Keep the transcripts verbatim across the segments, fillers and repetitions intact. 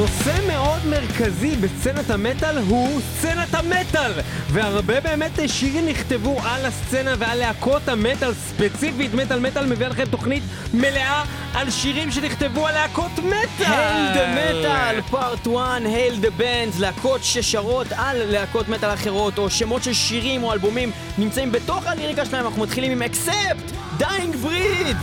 נושא מאוד מרכזי בסצנת המטל הוא סצנת המטל, והרבה באמת שירים נכתבו על הסצנה ועל להקות המטל, ספציפית מטל מטל מביא לכם תוכנית מלאה על שירים שנכתבו על להקות מטל. Hail the Metal Part one, Hail the Bands, להקות ששרות על להקות מטל אחרות או שמות של שירים או אלבומים נמצאים בתוך הליריקה שלהם. אנחנו מתחילים עם Accept, Dying Breed.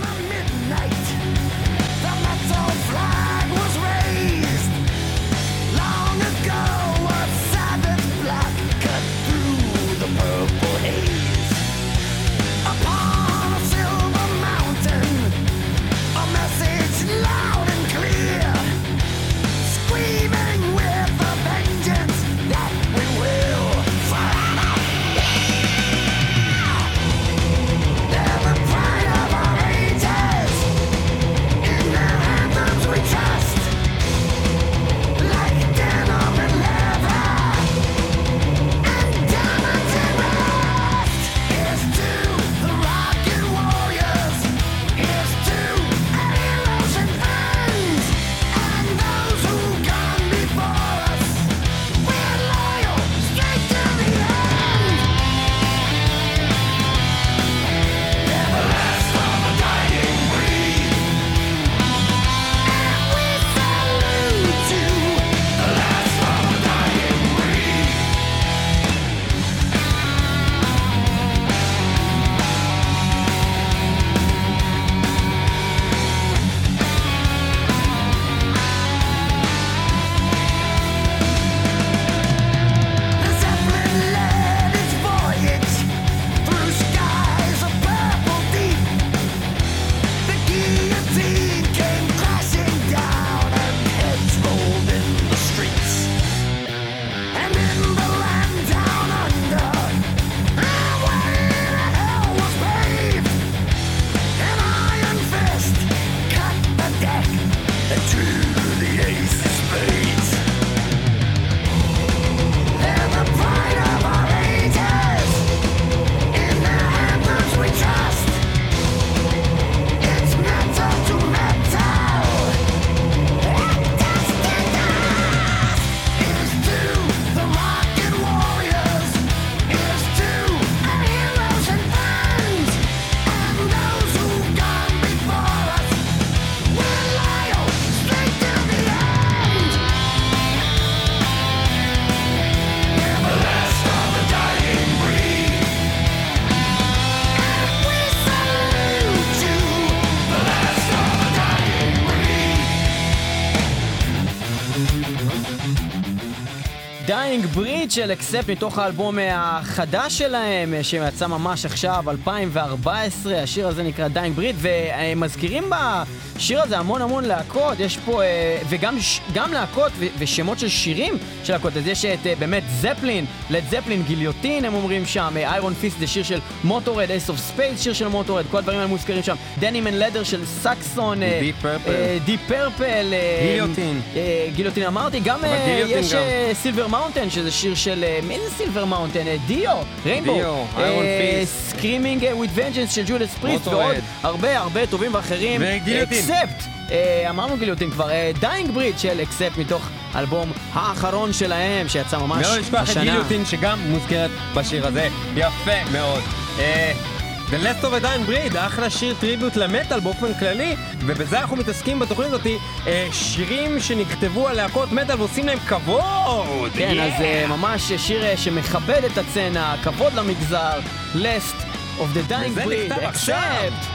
Dying Breed של Accept מתוך האלבום החדש שלהם שיצא ממש עכשיו, אלפיים וארבע עשרה. השיר הזה נקרא Dying Breed, ומזכירים בשיר הזה המון המון להקות. יש פה וגם גם להקות ושמות של שירים של להקות. אז יש את באמת זפלין, לד זפלין, גיליוטין הם אומרים שם, איירון פיסט זה שיר של מוטורד, אייס אוף ספייס שיר של מוטורד, כל הדברים האלה מוזכרים שם. דנים אנד לדר של סקסון, דיפ פרפל, דיפ פרפל, גיליוטין, גיליוטין אמרתי. גם יש סילבר מאונטן שזה שיר של מי זה סילבר מאונטן? דיו, ריינבו, סקרימינג וויד ונג'נס של ג'ודס פריסט ועוד הרבה הרבה טובים ואחרים. אקספט, אמרנו גיליוטין כבר. דיינג בריד של אקספט מתוך אלבום האחרון שלהם שיצא ממש השנה. מאוד נשפח את גיליוטין שגם מוזכרת בשיר הזה, יפה מאוד. The Last of a Dying Breed, אחלה שיר טריביוט למטל באופן כללי, ובזה אנחנו מתעסקים בתוכנית הזאת, שירים שנכתבו על להקות מטל ועושים להם כבוד. כן, yeah. אז uh, ממש שיר שמכבד את הצנה, כבוד למגזר, Last of the Dying Breed, Accept.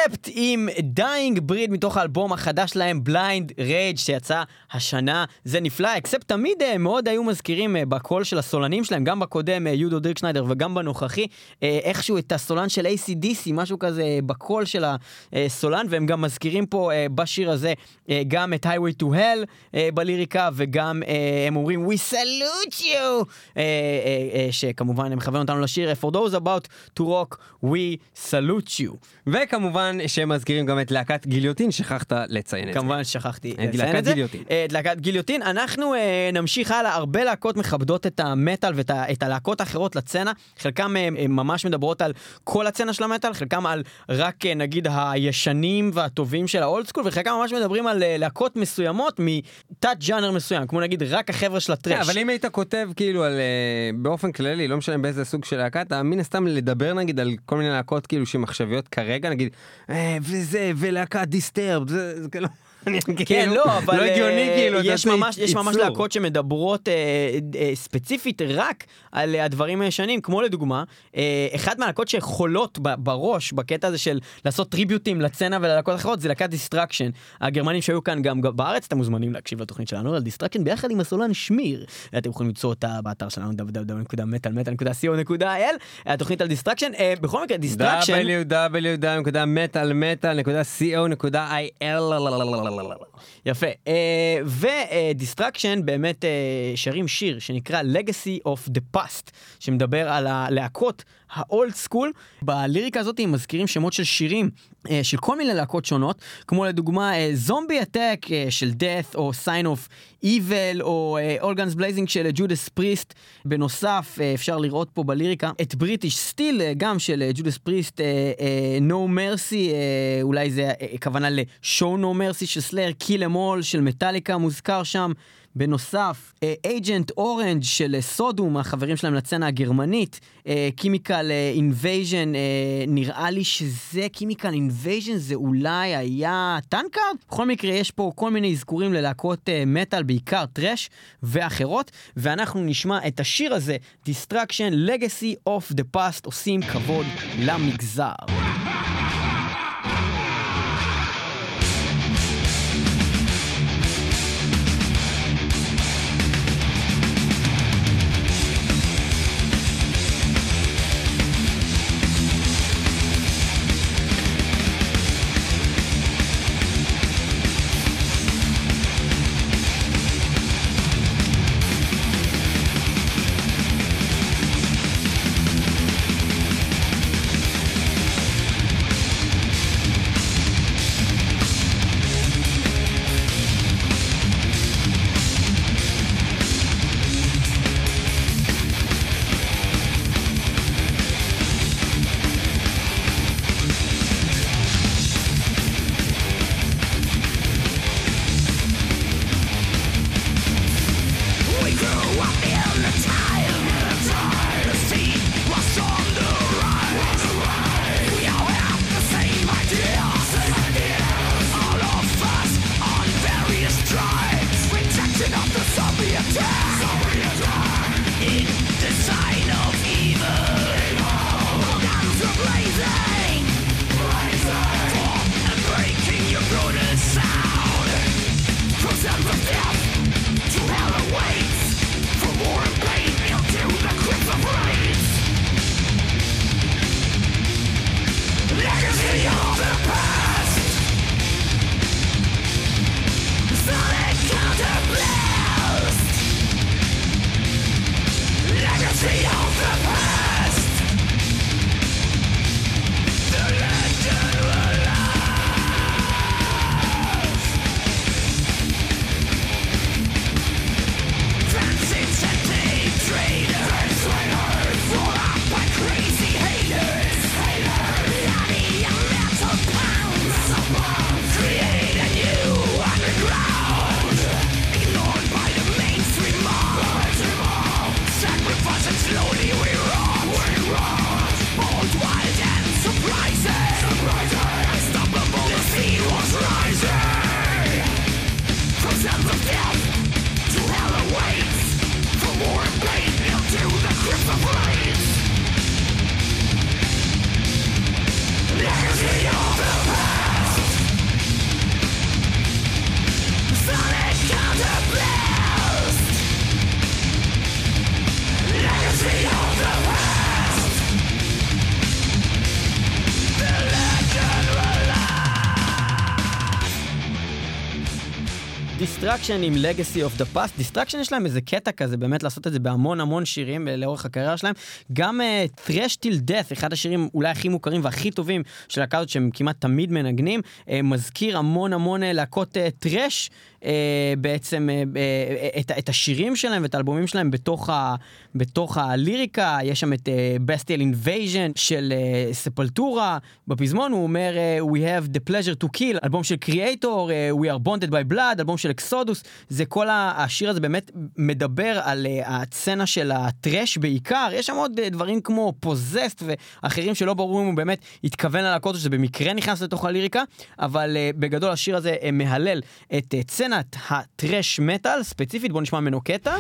אקספט עם Dying Breed מתוך האלבום החדש שלהם Blind Rage שיצא השנה. זה נפלא. אקספט תמיד מאוד היו מזכירים בקול של הסולנים שלהם, גם בקודם יודו דירקשניידר וגם בנוכחי, איכשהו את הסולן של איי סי די סי, משהו כזה בקול של הסולן, והם גם מזכירים פה בשיר הזה גם את Highway to Hell בליריקה, וגם הם אומרים We salute you, שכמובן הם מכוון אותנו לשיר For those about to rock we salute you. וכמובן שהם מזכירים גם את להקת גיליוטין, שכחת לציין את זה. כמובן שכחתי לציין את זה. את להקת גיליוטין. אנחנו נמשיך הלאה, הרבה להקות מכבדות את המטל ואת הלהקות האחרות לצנה, חלקם ממש מדברות על כל הצנה של המטל, חלקם על רק נגיד הישנים והטובים של האולד סקול, וחלקם ממש מדברים על להקות מסוימות מתת ג'אנר מסוים, כמו נגיד רק החבר'ה של הטרש. אבל אם היית כותב כאילו על, באופן כללי, לא משנה באיזה סוג של להקה, אתה מן הסתם לדבר נגיד על כל מיני להקות כאילו שמחשביות כרגע, נגיד, וזה, ולהקה דיסטרב, זה, זה כאילו... כן, לא, אבל לא הגיוני, כאילו, יש ממש, יש ממש להקות שמדברות אה, אה, ספציפית רק על הדברים הישנים, כמו לדוגמה, אה, אחד מהלהקות שחולות בראש, בקטע הזה של לעשות טריביוטים לצנה וללהקות אחרות, זה להקת דיסטרקשן. הגרמנים שהיו כאן גם בארץ, אתם מוזמנים להקשיב לתוכנית שלנו על דיסטרקשן, ביחד עם הסולן שמיר. אתם יכולים למצוא אותה באתר שלנו, דאבליו דאבליו דאבליו נקודה מטאל מטאל נקודה סי או נקודה איי אל, התוכנית על דיסטרקשן. אה, בכל מקרה, דיסטרקשן... דאבליו דאבליו דאבליו נקודה מטאל מטאל נקודה סי או נקודה איי אל. יפה. ודיסטרקשן באמת שרים שיר שנקרא Legacy of the Past, שמדבר על הלהקות האולד סקול. בליריקה הזאת הם מזכירים שמות של שירים של כל מיני להקות שונות, כמו לדוגמה זומבי אטק של Death, או Sign of Evil, או All Guns Blazing של Judas Priest. בנוסף אפשר לראות פה בליריקה את British Steel גם של Judas Priest, No Mercy, אולי זה כוונה ל-Show No Mercy של Slayer, Kill Em All של מטאליקה מוזכר שם. בנוסף, Agent Orange של סודום, החברים שלהם לצנה הגרמנית, Chemical Invasion, נראה לי שזה Chemical Invasion, זה אולי היה טנקארד? בכל מקרה, יש פה כל מיני אזכורים ללהקות מטל, בעיקר טרש ואחרות, ואנחנו נשמע את השיר הזה, Destruction, Legacy of the Past, עושים כבוד למגזר. Destruction עם Legacy of the Past. Destruction יש להם איזה קטע כזה, באמת לעשות את זה בהמון המון שירים לאורך הקריירה שלהם. גם uh, Thrash Till Death, אחד השירים אולי הכי מוכרים והכי טובים של להקות הזאת שהם כמעט תמיד מנגנים, uh, מזכיר המון המון להקות uh, טרש, uh, בעצם uh, uh, את, את השירים שלהם ואת האלבומים שלהם בתוך, ה, בתוך הליריקה. יש שם את uh, Bestial Invasion של uh, ספלטורה, בפזמון הוא אומר uh, We have the pleasure to kill, אלבום של Creator, uh, We are bonded by blood, אלבום של אקסודוס. זה כל השיר הזה באמת מדבר על uh, הצצנה של הטרש בעיקר. יש שם עוד uh, דברים כמו פוזסט ואחרים שלא ברור אם הוא באמת התכוון ללהקות שזה במקרה נכנס לתוך הליריקה, אבל uh, בגדול השיר הזה uh, מהלל את uh, צנת הטרש מטל ספציפית. בוא נשמע ממנו קטע.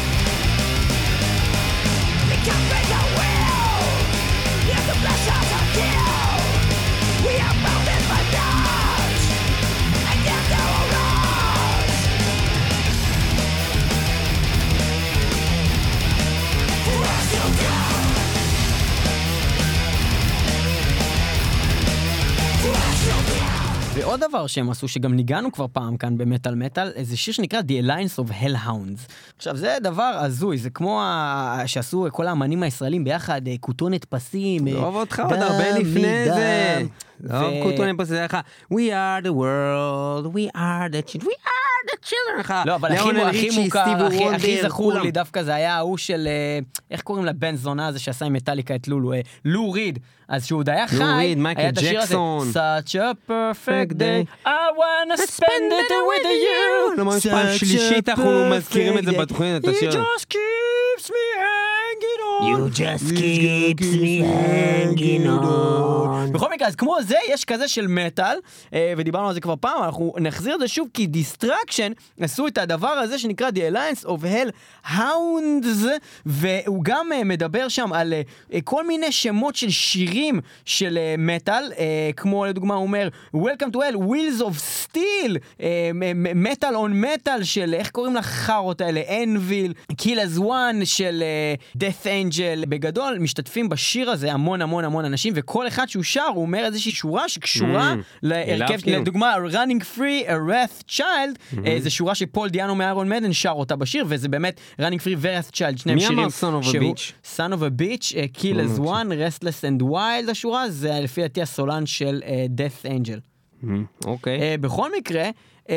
ועוד דבר שהם עשו, שגם ניגענו כבר פעם כאן במטל מטל, זה שיר שנקרא The Alliance of Hellhounds. עכשיו, זה דבר הזוי, זה כמו ה... שעשו כל האמנים הישראלים ביחד, כותונת פסים, לא אוהב אותך עוד הרבה לפני זה. לא אוהב כותונת פסים, זה לך, We are the world, we are the children, we are the children. לא, אבל הכי מוכר, הכי זכור לי דווקא, זה היה ההוא של, איך קוראים לבן זונה הזה שעשה עם מטליקה את לולו, לו ריד. אז שהוא די חי, היה את השיר הזה, Such a perfect day, I wanna spend it with you. לא ממש פעם שלישית אנחנו מזכירים את זה בתוכנית, את השיר. It just keeps me hanging on. You just keeps me hanging on. בכל מקרה, אז כמו זה, יש כזה של מטל, ודיברנו על זה כבר פעם, אנחנו נחזיר את זה שוב, כי Destruction עשו את הדבר הזה שנקרא The Alliance of Hellhounds, והוא גם מדבר שם על כל מיני שמות של שירים, של מטל, כמו לדוגמה הוא אומר Welcome to Hell, Wheels of Steel, Metal on Metal של איך קוראים לחרות האלה, Anvil, Kill as One של Death Angel. בגדול משתתפים בשיר הזה המון המון המון אנשים, וכל אחד שהוא שר הוא אומר איזושהי שורה שקשורה להרכב, לדוגמה Running Free, A Wrath Child, זה שורה שפול דיאנו מאיירון מדן שר אותה בשיר, וזה באמת Running Free ו-Wrath Child, שניהם שירים. מי אמר Son of a Bitch? Son of a Bitch, Kill as One, Restless and Wild השורה, זה לפי דעתי הסולן של Death Angel. אוקיי. בכל מקרה,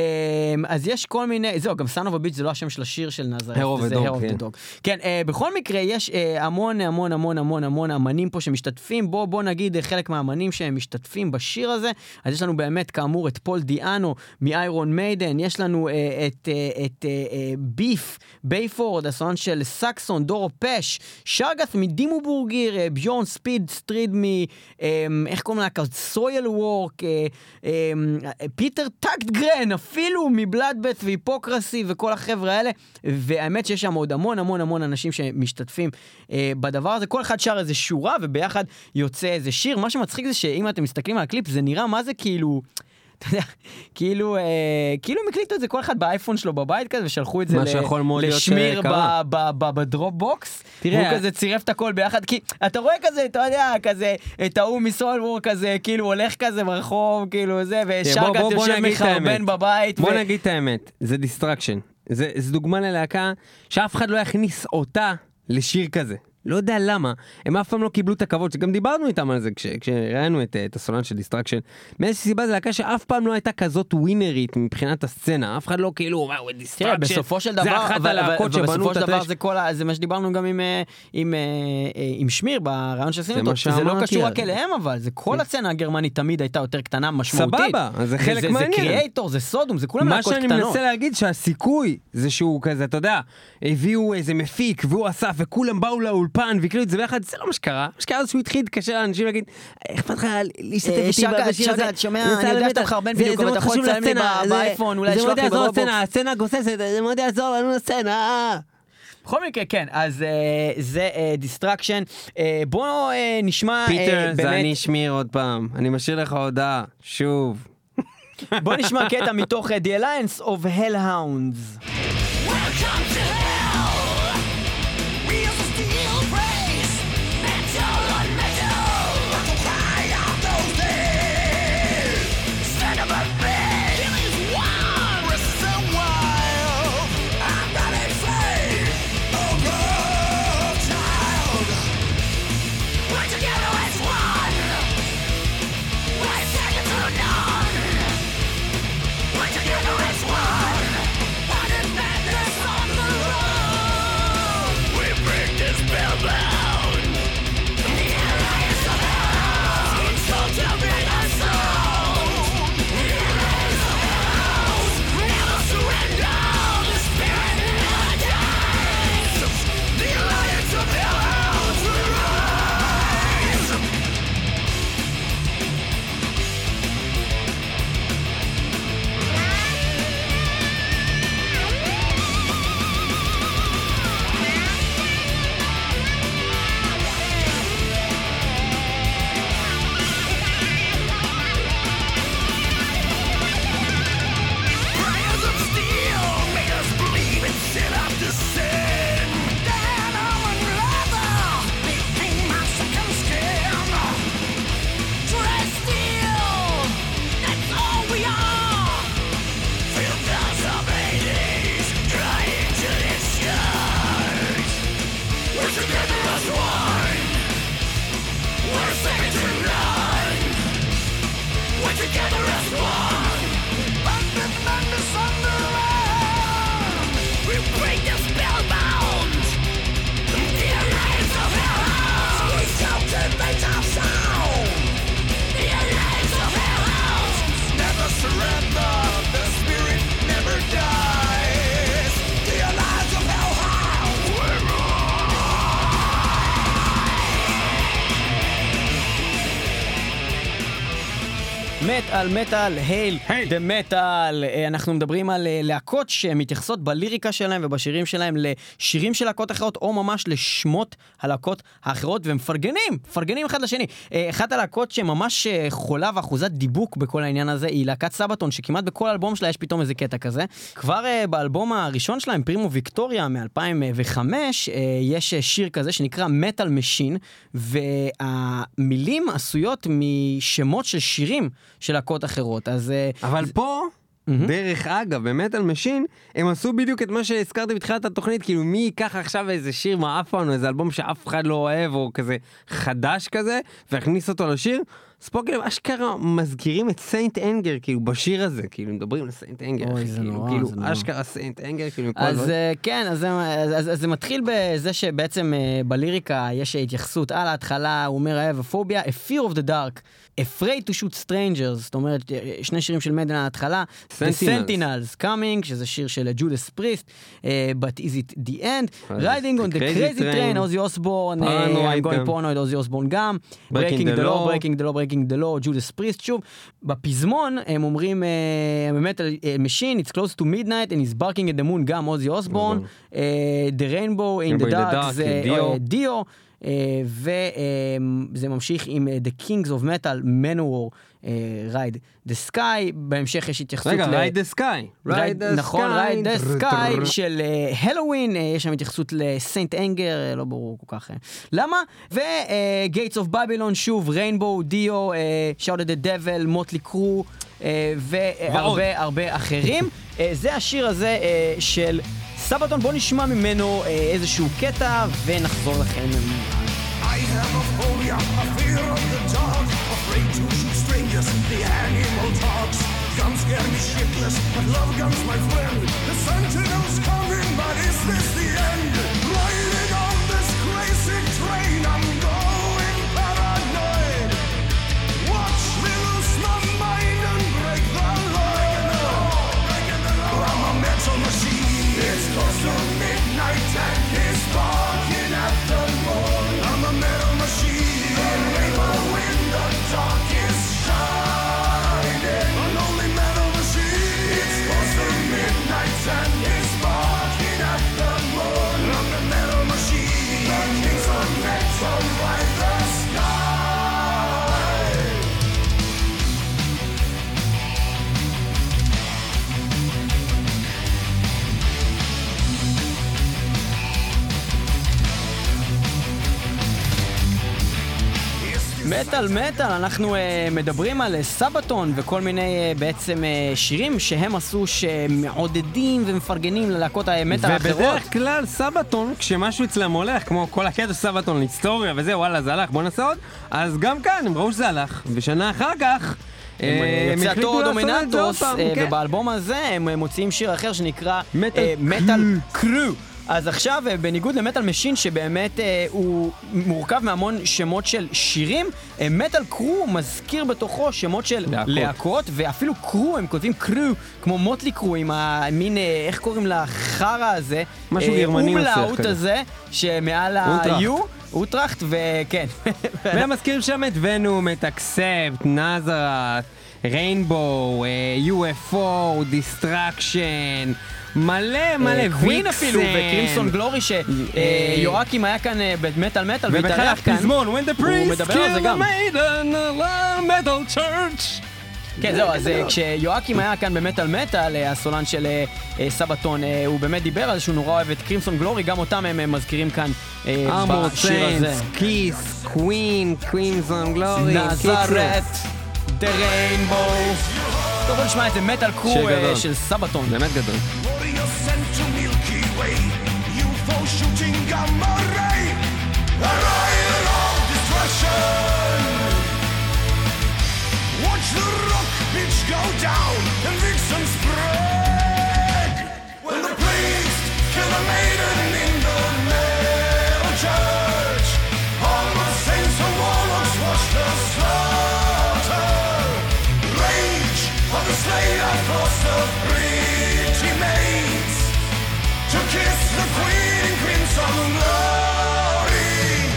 אז יש כל מיני, זהו, גם Son of a Bitch זה לא השם של השיר של נזרת, זה Hair of the Dog. כן, בכל מקרה יש המון המון המון המון המון אמנים פה שמשתתפים, בוא בוא נגיד חלק מהאמנים שהם משתתפים בשיר הזה. אז יש לנו באמת כאמור את פול דיאנו מאיירון מיידן, יש לנו את את ביף בייפורד, הסולן של סקסון, דורו פש, שרגת מדימו בורגיר, ביורן ספיד סטריד מ איך קוראים לה, סויל וורק, פיטר טאקט גרן, אפילו מבלאדבט והיפוקרסי וכל החבר'ה האלה, והאמת שיש שם עוד המון המון המון אנשים שמשתתפים אה, בדבר הזה. כל אחד שר איזה שורה וביחד יוצא איזה שיר. מה שמצחיק זה שאם אתם מסתכלים על הקליפ זה נראה מה זה כאילו, אתה יודע, כאילו, אה, כאילו הם הקליטו את זה כל אחד באייפון שלו בבית כזה ושלחו את זה לשמיר בדרופ בוקס, והוא כזה צירף את הכל ביחד, כי אתה רואה כזה, אתה יודע, כזה, את ההוא מסולוור כזה, כאילו הולך כזה ברחוב, כאילו זה, ושרגת יושב מחרבן בבית. בוא נגיד את האמת, זה דיסטרקשן, זה דוגמה ללהקה שאף אחד לא יכניס אותה לשיר כזה. לא יודע למה, הם אף פעם לא קיבלו את הכבוד, שגם דיברנו איתם על זה כש, כשראינו את, את הסולן של דיסטרקשן, מאיזושהי סיבה זה להקה שאף פעם לא הייתה כזאת ווינרית מבחינת הסצנה, אף אחד לא כאילו, וואו, דיסטרקשן, בסופו של דבר, זה אחת הלהקות שבנו את הטרש. זה, כל, זה מה שדיברנו גם עם, עם, עם שמיר ברעיון שעשינו אותו, זה לא קשור רק אליהם, אבל זה כל הסצנה הגרמנית תמיד הייתה יותר קטנה, משמעותית. סבבה, זה חלק מעניין. זה קריאייטור, זה סודום, זה כולם להקות קטנות. מה שאני מנסה להגיד שהסיכוי זה שהוא כזה, אתה יודע, הביאו איזה מפיק והוא אסף וכולם באו לאולפן והקליטו את זה ביחד, זה לא מה שקרה. מה שקרה זה שהוא התחיל להתקשר לאנשים להגיד, איך פתחה להשתתף איתי בשיר הזה? שומע, אני יודע שאתה מחרבן בדיוק, אבל אתה יכול לצלם לי באייפון, אולי לשלוח לי ברובוקס. הסצנה גוססת, זה מאוד יעזור לנו לסצנה. בכל מקרה, כן, אז זה דיסטרקשן. בואו נשמע... פיטר, זה אני שמיר עוד פעם. אני משאיר לך הודעה, שוב. בואו נשמע קטע מתוך The Alliance of Hellhounds. Welcome to hell. Wheels of steel praise. Metal on metal. The cry of those days. Son of a bitch. Kill is one. Resist one. We're together as one. Bandit madness on the run. We break the spellbound. The alliance of hellhounds. We cultivate our sound. The alliance of hellhounds. Never surrender. The spirit never dies. The alliance of hellhounds. We're מטאל, מטאל, הייל, דה מטאל. אנחנו מדברים על אה, להקות שמתייחסות בליריקה שלהם ובשירים שלהם לשירים של להקות אחרות, או ממש לשמות הלהקות האחרות, ומפרגנים, מפרגנים אחד לשני. אה, אחת הלהקות שממש אה, חולה ואחוזת דיבוק בכל העניין הזה, היא להקת סבתון, שכמעט בכל אלבום שלה יש פתאום איזה קטע כזה. כבר אה, באלבום הראשון שלהם, פרימו ויקטוריה, מ-אלפיים וחמש, אה, יש שיר כזה שנקרא מטאל משין, והמילים עשויות משמות של שירים של להקות אחרות, אז... אבל פה, דרך אגב, במטל משין, הם עשו בדיוק את מה שהזכרתי בתחילת התוכנית, כאילו מי ייקח עכשיו איזה שיר מעפן, או איזה אלבום שאף אחד לא אוהב, או כזה חדש כזה, והכניס אותו לשיר, אז פה כאילו אשכרה מזכירים את סיינט אנגר, כאילו בשיר הזה, כאילו מדברים על סיינט אנגר, אוי, זה כאילו, נורא, כאילו זה נורא. אשכרה סיינט אנגר, כאילו מכל אז זאת. אה, כן, אז, זה- אז, אז, אז זה מתחיל בזה שבעצם אה, בליריקה יש התייחסות על ההתחלה, הוא אומר, I have a phobia, a fear of the dark, afraid to shoot strangers, זאת אומרת, אה, שני שירים של מדן על ההתחלה, The Sentinels. Sentinels Coming, שזה שיר של ג'ודס פריסט, אה, But is it the end, אז Riding on The the Crazy crazy Train, train, עוזי אוסבורן, Paranoid I'm going גם. paranoid, עוזי אוסבורן גם, Breaking Breaking the the law, Law. Breaking the law, Breaking the law, ג'ודס פריסט, שוב, בפזמון הם אומרים, אה, באמת, אה, Machine, it's close to midnight, and he's barking at the moon, גם עוזי אוסבורן, אה, The Rainbow in Rainbow the in the Dark, Dark, זה דיו. אה, דיו, אה, וזה ממשיך עם אה, The Kings of Metal, Manowar, אה, Ride the Sky, בהמשך יש התייחסות רגע, ל... רייד דה סקאי. רייד, נכון, רייד דה סקאי של הלואוין, יש שם התייחסות לסיינט אנגר, לא ברור כל כך למה, וגייטס אוף בבילון, שוב, ריינבו, דיו, שאוט דה דבל, מוטלי קרו, והרבה הרבה אחרים. אה, זה השיר הזה אה, של סבתון, בוא נשמע ממנו אה, איזשהו קטע ונחזור לכם. I have a phobia, a fear of the dark, afraid to shoot strangers, the animal talks. Guns scare me shitless, but love guns, my friend. The sentinel's coming, but is this the end? Riding on this crazy train, I'm going paranoid. Watch me lose my mind and break the law. I'm a metal machine, it's close to midnight and he's barking at the moon. I'm a metal machine, a rainbow in the dark is shining. A lonely metal machine, it's close to midnight and he's barking at the moon. I'm a metal machine, the kings of metal ride the sky. מטל מטל, אנחנו uh, מדברים על uh, סבתון וכל מיני uh, בעצם uh, שירים שהם עשו שמעודדים ומפרגנים ללהקות המטל האחרות. ובדרך כלל סבתון, כשמשהו אצלם הולך, כמו כל הקטע סבתון להיסטוריה וזה, וואלה זה הלך, בוא נעשה עוד, אז גם כאן הם ראו שזה הלך, ושנה אחר כך הם יוצא החליטו התור לעשות את זה עוד דומיננטוס, פעם, uh, כן. ובאלבום הזה הם uh, מוציאים שיר אחר שנקרא מטל uh, מטל קרו. אז עכשיו, uh, בניגוד למטל משין, שבאמת uh, הוא מורכב מהמון שמות של שירים, uh, מטל קרו מזכיר בתוכו שמות של להקות. להקות, ואפילו קרו, הם כותבים קרו, כמו מוטלי קרו, עם המין, uh, איך קוראים לחרא הזה? משהו uh, גרמני מסך אומלאוט כזה. הזה, שמעל אוטראכט. ה-U, אוטראכט, וכן. והם מזכירים שם את ונום, את אקספט, נזרת, ריינבו, יו אף או, דיסטרקשן, מלא מלא ויקסן. קווין אפילו, וקרימסון גלורי, שיואקים היה כאן אה, במטל מטל, ובכלל והתארח כאן. הפזמון, When the הוא priest מדבר על זה killed גם. the maiden, a metal church. כן, זהו, אז אה, כשיואקים היה כאן במטל מטל, אה, הסולן של אה, אה, סבתון, אה, הוא באמת דיבר על זה שהוא נורא אוהב את קרימסון גלורי, גם אותם הם אה, מזכירים כאן אה, ארמור בשיר הזה. סיינס, כיס, קווין, קווינזון גלורי, נזרת, דה ריינבו. טוב, בוא נשמע את זה, מטל קרו שיר אה, גדול. של סבתון. באמת גדול. Warrior sent to Milky Way, U F O shooting gamma ray, a riot of destruction. Watch the rock down and vixens brag. When the priest killed a maiden in the metal church, all the saints and warlocks watched the slaughter. Rage of the slayer across the pretty maids to kiss the queen in crimson glory.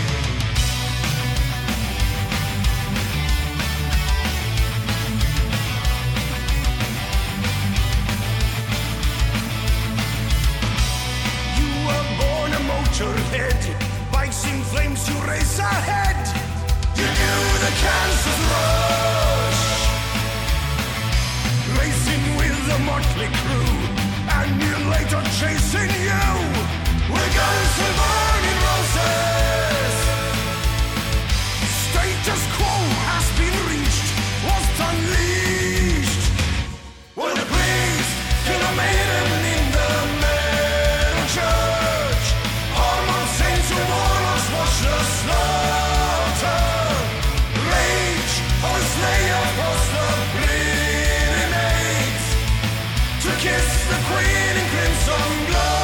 You were born a motorhead, bikes in flames to race ahead. You knew the cancer's rush, racing with the motley crew, and you later chasing you with guns and burning roses. Status quo has been reached, was unleashed. When the priest killed a maiden in the metal church, armored saints and warlocks watched the slaughter. Rage of the slayer across the pretty maids to kiss the queen in crimson glory.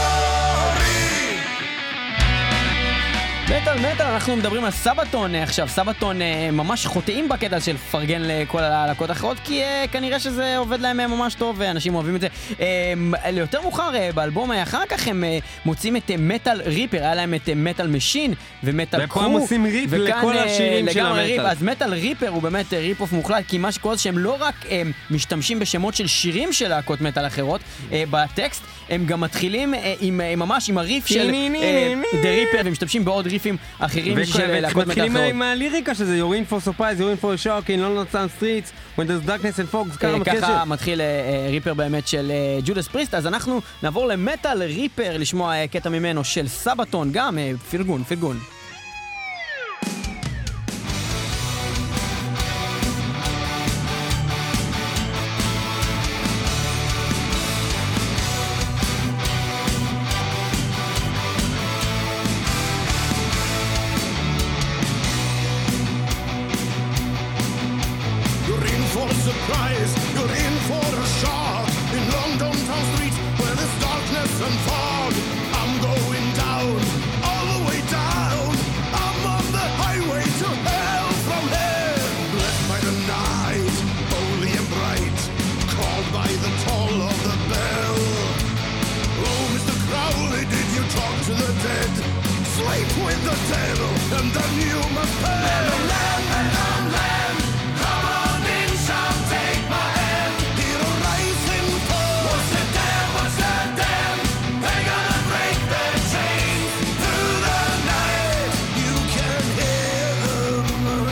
מטל מטל, אנחנו מדברים על סבתון עכשיו. סבתון אה, ממש חוטאים בקטע של פרגן לכל הלהקות האחרות, כי אה, כנראה שזה עובד להם ממש טוב ואנשים אוהבים את זה. אה, ליותר מאוחר אה, באלבום אחר כך הם אה, מוצאים את אה, מטל ריפר, היה להם את אה, מטל משין ומטל קרו, ופה הם עושים ריפ לכל השירים של המטל. ריפ. אז מטל ריפר הוא באמת אה, ריפ אוף מוחלט, כי מה שקורה זה שהם לא רק אה, משתמשים בשמות של שירים של להקות מטל אחרות אה, בטקסט, הם גם מתחילים אה, עם, אה, ממש עם הריף של דה ריפר, ומשתמשים בעוד ריפים אחרים של להקות מטל אחרות. ומתחילים עם הליריקה שזה You're in for surprise, You're in for a shock, in London Town streets, when there's darkness and fog. ככה מתחיל ריפר באמת של ג'ודס פריסט. אז אנחנו נעבור למטל ריפר לשמוע קטע ממנו של סבתון, גם פרגון, פרגון. You're in for a surprise, you're in for a shock. In London town streets where there's darkness and fog, I'm going down, all the way down. I'm on the highway to hell from here. Blessed by the night, holy and bright, called by the toll of the bell. Oh, Mister Crowley, did you talk to the dead? Sleep with the devil, and then you must pay. Lamb, lamb, lamb, lamb, come on in, some take my hand. Hero rising for what's the damn, what's the damn? They're gonna break their chains through the night. You can hear them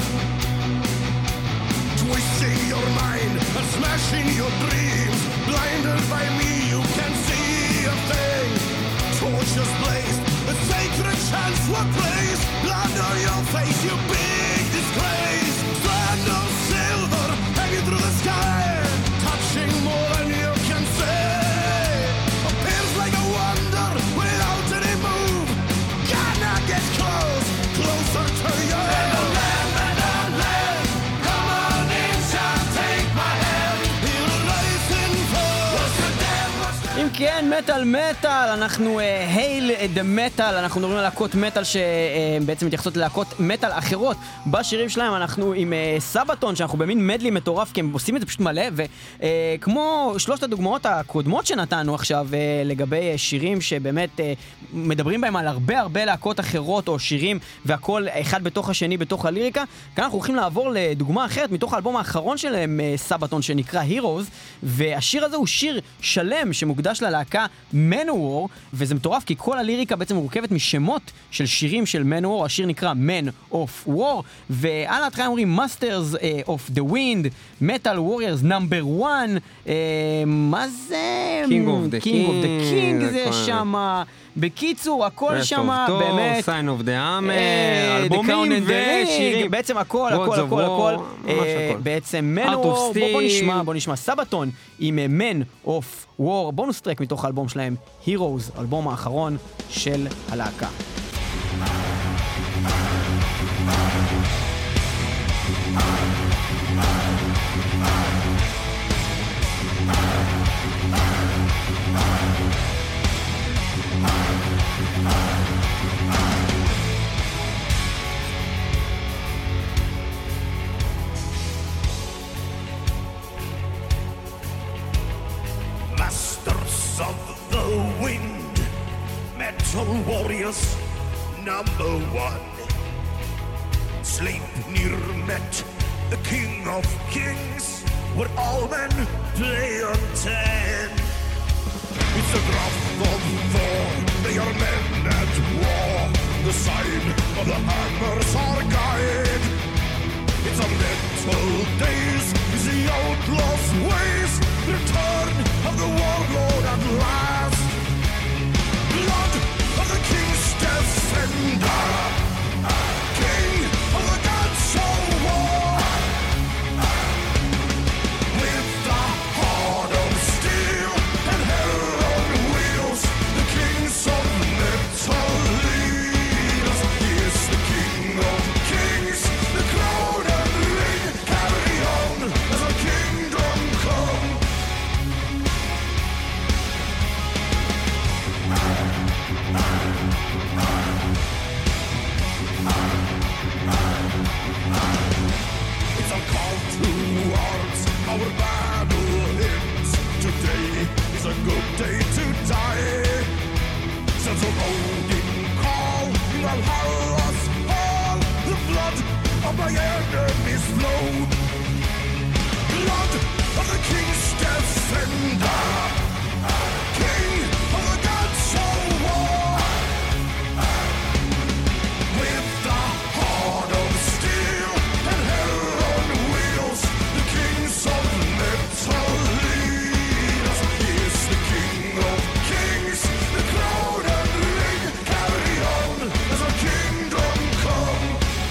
twisting your mind and smashing your dreams. Blinded by me, you can't see a thing. Torches blazed, a sacred chance were placed. Blood on your face, you big disgrace. Strand of silver hanging through the sky, touching more than you can say. Appears like a wonder without any move. Gonna get close, closer to you. And the lamb, and the lamb, come on in, son, take my hand. He'll rise in for what's the damn, what's the אם כן, מטל מטל, אנחנו הייל דה מטל, אנחנו מדברים על להקות מטל שבעצם מתייחסות ללהקות מטל אחרות בשירים שלהם. אנחנו עם סבתון, שאנחנו במין מדלי מטורף, כי הם עושים את זה פשוט מלא, וכמו שלושת הדוגמאות הקודמות שנתנו עכשיו לגבי שירים שבאמת מדברים בהם על הרבה הרבה להקות אחרות או שירים, והכל אחד בתוך השני בתוך הליריקה. כאן אנחנו הולכים לעבור לדוגמה אחרת מתוך האלבום האחרון שלהם, סבתון, שנקרא Heroes, והשיר הזה הוא שיר שלם שמוקדש ללהקה Manowar, וזה מטורף כי כל הליריקה בעצם מורכבת משמות של שירים של Manowar. השיר נקרא Man of War, ועל ההתחלה אומרים Masters uh, of the Wind, Metal Warriors number one, uh, מה זה? King of the King of the King King, זה הכל. שמה. בקיצור, הכל Rest שמה of Thor, באמת. Sign of the Hammer, אה, The Crown אלבומים and the Ring, ושירים. בעצם הכל, Gods הכל, of הכל, War, הכל. ממש אה, הכל. בעצם Art of מנוור, בוא בוא Steel. נשמע, בוא נשמע סבתון עם Man of War, בונוס טרק מתוך האלבום שלהם, Heroes, האלבום האחרון של הלהקה. Masters of the wind, metal warriors, number one. Sleipnir met the king of kings, where all men play on ten. It's a draft of Thor, they are men at war. The sign of the hammers are guide. It's a metal days, it's the outlaw's ways. Return of the warlord at last. Blood of the king's defender, king of the gods of war. With the heart of steel and hell on wheels, the kings of metal lead us. He is the king of kings, the crown and ring carry on as a kingdom come. It's a call to arms, our battle hymns. Today is a good day to die. Sons of Odin call, Valhalla's fall. The blood of my enemies flow. Blood of the king's defender, king of the gods of war. With the heart of steel and hell on wheels, the kings of metal lead us. He is the king of kings, the crown and ring carry on as a kingdom come.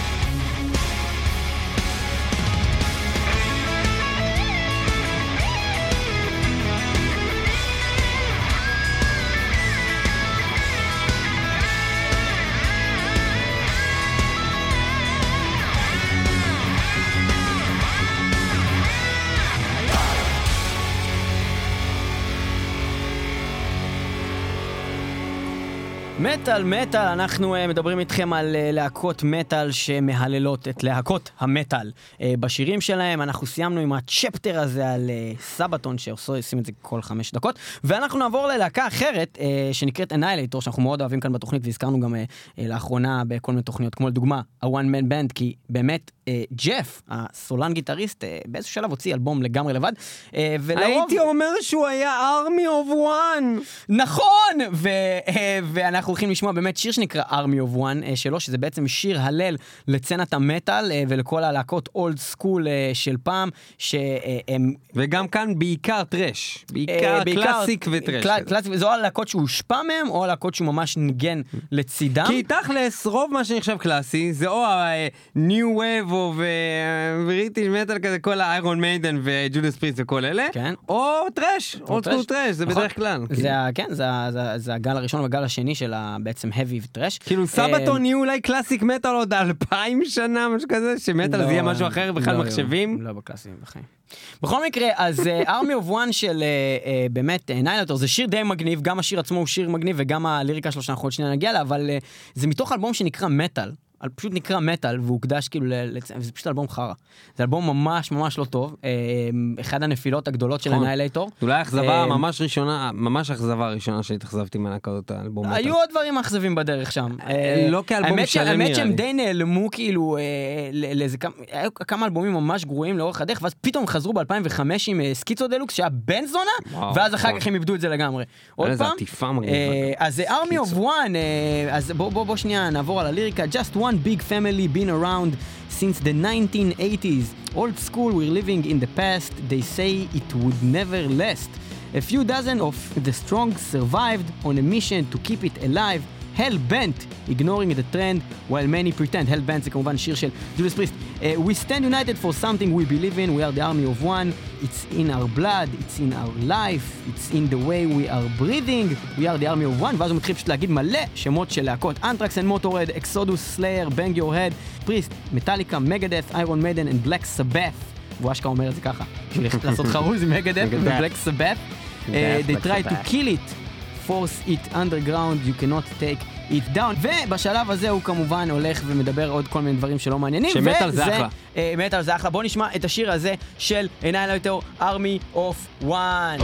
מטל, מטל, אנחנו uh, מדברים איתכם על uh, להקות מטל שמהללות את להקות המטל uh, בשירים שלהם. אנחנו סיימנו עם הצ'פטר הזה על uh, סבתון שעושים את זה כל חמש דקות, ואנחנו נעבור ללהקה אחרת uh, שנקראת Annihilator, שאנחנו מאוד אוהבים כאן בתוכנית, והזכרנו גם uh, uh, לאחרונה בכל מיני תוכניות, כמו לדוגמה ה-One Man Band, כי באמת uh, ג'ף, הסולן גיטריסט, uh, באיזשהו שלב הוציא אלבום לגמרי לבד, uh, ולרוב... הייתי אומר שהוא היה Army of One. נכון! ו- uh, ואנחנו הולכים לשמוע באמת שיר שנקרא Army of One שלו, שזה בעצם שיר הלל לצנת המטל ולכל הלהקות אולד סקול של פעם, שהם... וגם כאן בעיקר טרש, בעיקר קלאסיק וטרש. קלאסיק, זו הלהקות שהוא הושפע מהם, או הלהקות שהוא ממש ניגן לצידם. כי תכלס, רוב מה שנחשב קלאסי, זה או ה-New Wave או בריטיש מטל כזה, כל ה-Iron Maiden וג'ודס פריסט וכל אלה, או טרש, אולד סקול טרש, זה בדרך כלל. כן, זה הגל הראשון והגל השני של בעצם heavy וטרש. כאילו סבתון יהיו אולי קלאסיק מטל עוד אלפיים שנה, משהו כזה, שמטל זה יהיה משהו אחר, בכלל מחשבים. לא בקלאסים, בחיים. בכל מקרה, אז Army of One של באמת Annihilator, זה שיר די מגניב, גם השיר עצמו הוא שיר מגניב, וגם הליריקה שלו שאנחנו עוד שנייה נגיע לה, אבל זה מתוך אלבום שנקרא מטל, פשוט נקרא מטל, והוא הוקדש כאילו, זה פשוט אלבום חרה. זה אלבום ממש ממש לא טוב, אחד הנפילות הגדולות של Annihilator. אולי אכזבה ממש ראשונה, ממש אכזבה הראשונה שהתאכזבתי מהלהקות האלבום מטל. היו עוד דברים אכזבים בדרך שם. לא כאלבום שלם נראה לי. האמת שהם די נעלמו כאילו, היו כמה אלבומים ממש גרועים לאורך הדרך, ואז פתאום חזרו ב-אלפיים וחמש עם סקיצו דלוקס, שהיה בן זונה, ואז אחר כך הם איבדו את זה לגמרי. עוד פעם, אז זה Army of One, אז בוא שנייה נעבור על הליריקה. Just one big family been around since the nineteen eighties. Old school, we're living in the past. They say it would never last. A few dozen of the strong survived on a mission to keep it alive. Hell bent, ignoring the trend while many pretend. Hell bent זה כמובן שיר של ג'ודס פריסט. Uh, we stand united for something we believe in. We are the army of one. It's in our blood. It's in our life. It's in the way we are breathing. We are the army of one. ואז הוא מתחיל פשוט להגיד מלא שמות של להקות. Anthrax and Motorhead, Exodus, Slayer, Bang Your Head, Priest, Metallica, Megadeth, Iron Maiden and Black Sabbath. והוא אשכרה אומר את זה ככה. בשביל לעשות חרוז עם Megadeth ו-Black Sabbath. Uh, they try to kill it force it underground, you cannot take it down. ובשלב הזה הוא כמובן הולך ומדבר עוד כל מיני דברים שלא מעניינים. שמטל זה אחלה. אה, מטל זה אחלה. בוא נשמע את השיר הזה של Annihilator Army of One.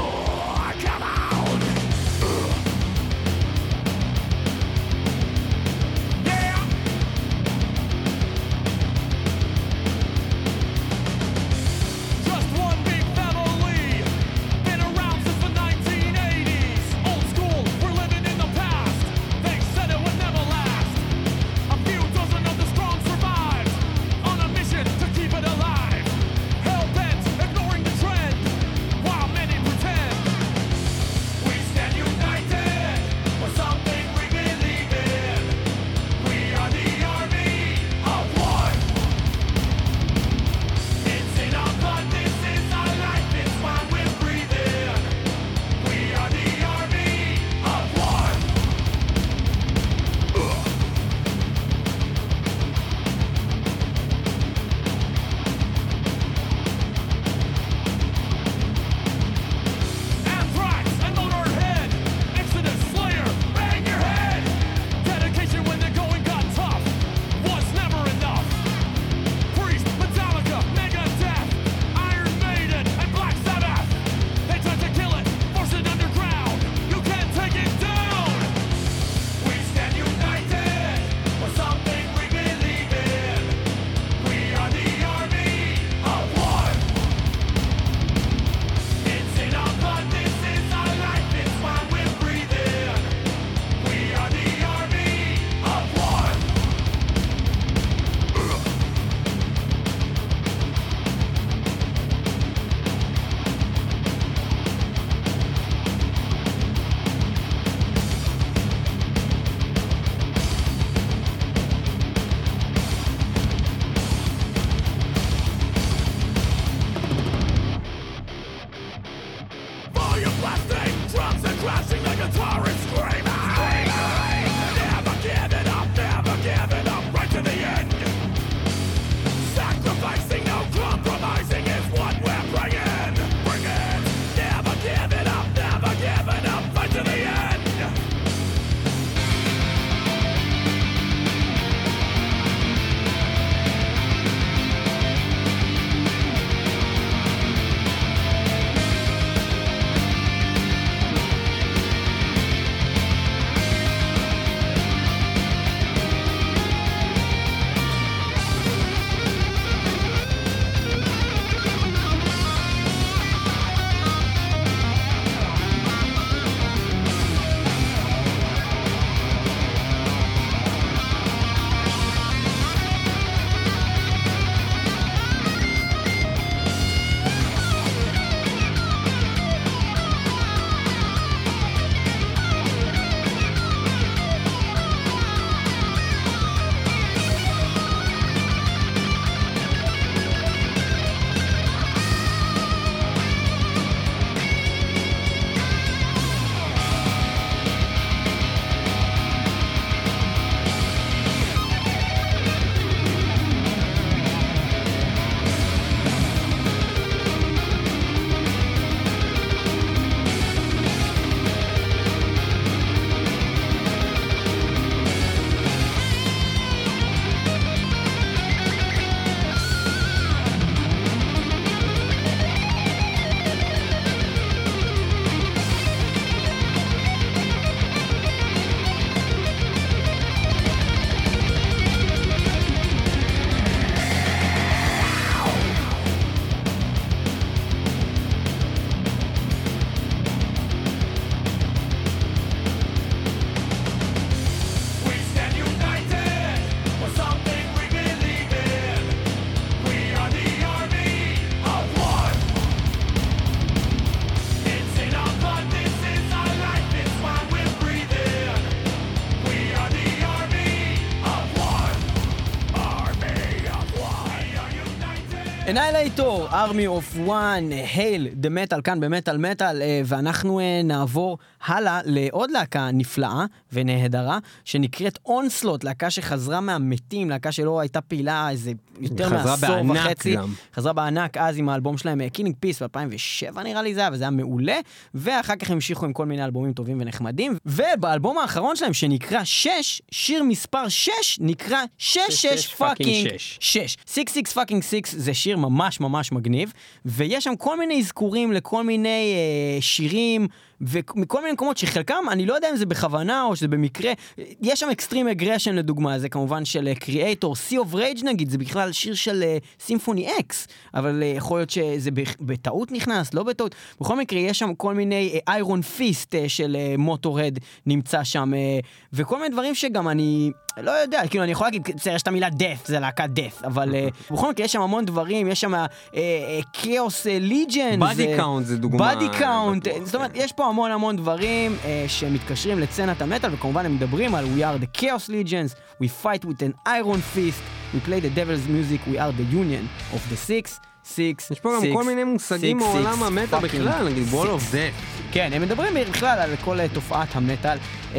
Annihilator, Army of One, Hail the Metal, כאן במטל מטל, ואנחנו נעבור הלאה לעוד להקה נפלאה ונהדרה, שנקראת Onslaught, להקה שחזרה מהמתים, להקה שלא הייתה פעילה איזה יותר מעשור וחצי. גם. חזרה בענק אז עם האלבום שלהם, Killing Peace ב-אלפיים ושבע נראה לי זה היה, וזה היה מעולה, ואחר כך המשיכו עם כל מיני אלבומים טובים ונחמדים, ובאלבום האחרון שלהם שנקרא שש, שיר מספר שש נקרא שש שש פאקינג שש. שש שש פאקינג שש זה שיר ממש ממש מגניב, ויש שם כל מיני אזכורים לכל מיני אה, שירים, ומכל מיני מקומות שחלקם, אני לא יודע אם זה בכוונה או שזה במקרה, יש שם אקסטרים אגרשן לדוגמה, זה כמובן של קריאטור, Sea of Rage נגיד, זה בכלל שיר של סימפוני אקס, אבל uh, יכול להיות שזה בטעות נכנס, לא בטעות. בכל מקרה, יש שם כל מיני איירון uh, פיסט uh, של מוטורד uh, נמצא שם, uh, וכל מיני דברים שגם אני לא יודע, כאילו אני יכול להגיד, יש את המילה death, זה להקה death, אבל uh, בכל מקרה יש שם המון דברים, יש שם כאוס ליג'נס, בדי קאונט זה דוגמה. בדי קאונט, זאת אומרת, יש פה המון המון דברים uh, שמתקשרים לצנת המטל, וכמובן הם מדברים על We are the Chaos Legions, we fight with an iron fist, we play the devil's music, we are the union of the six, six, יש פה גם כל מיני מושגים מעולם המטל בכלל, נגיד Wall of Death. כן, הם מדברים בכלל על כל תופעת המטל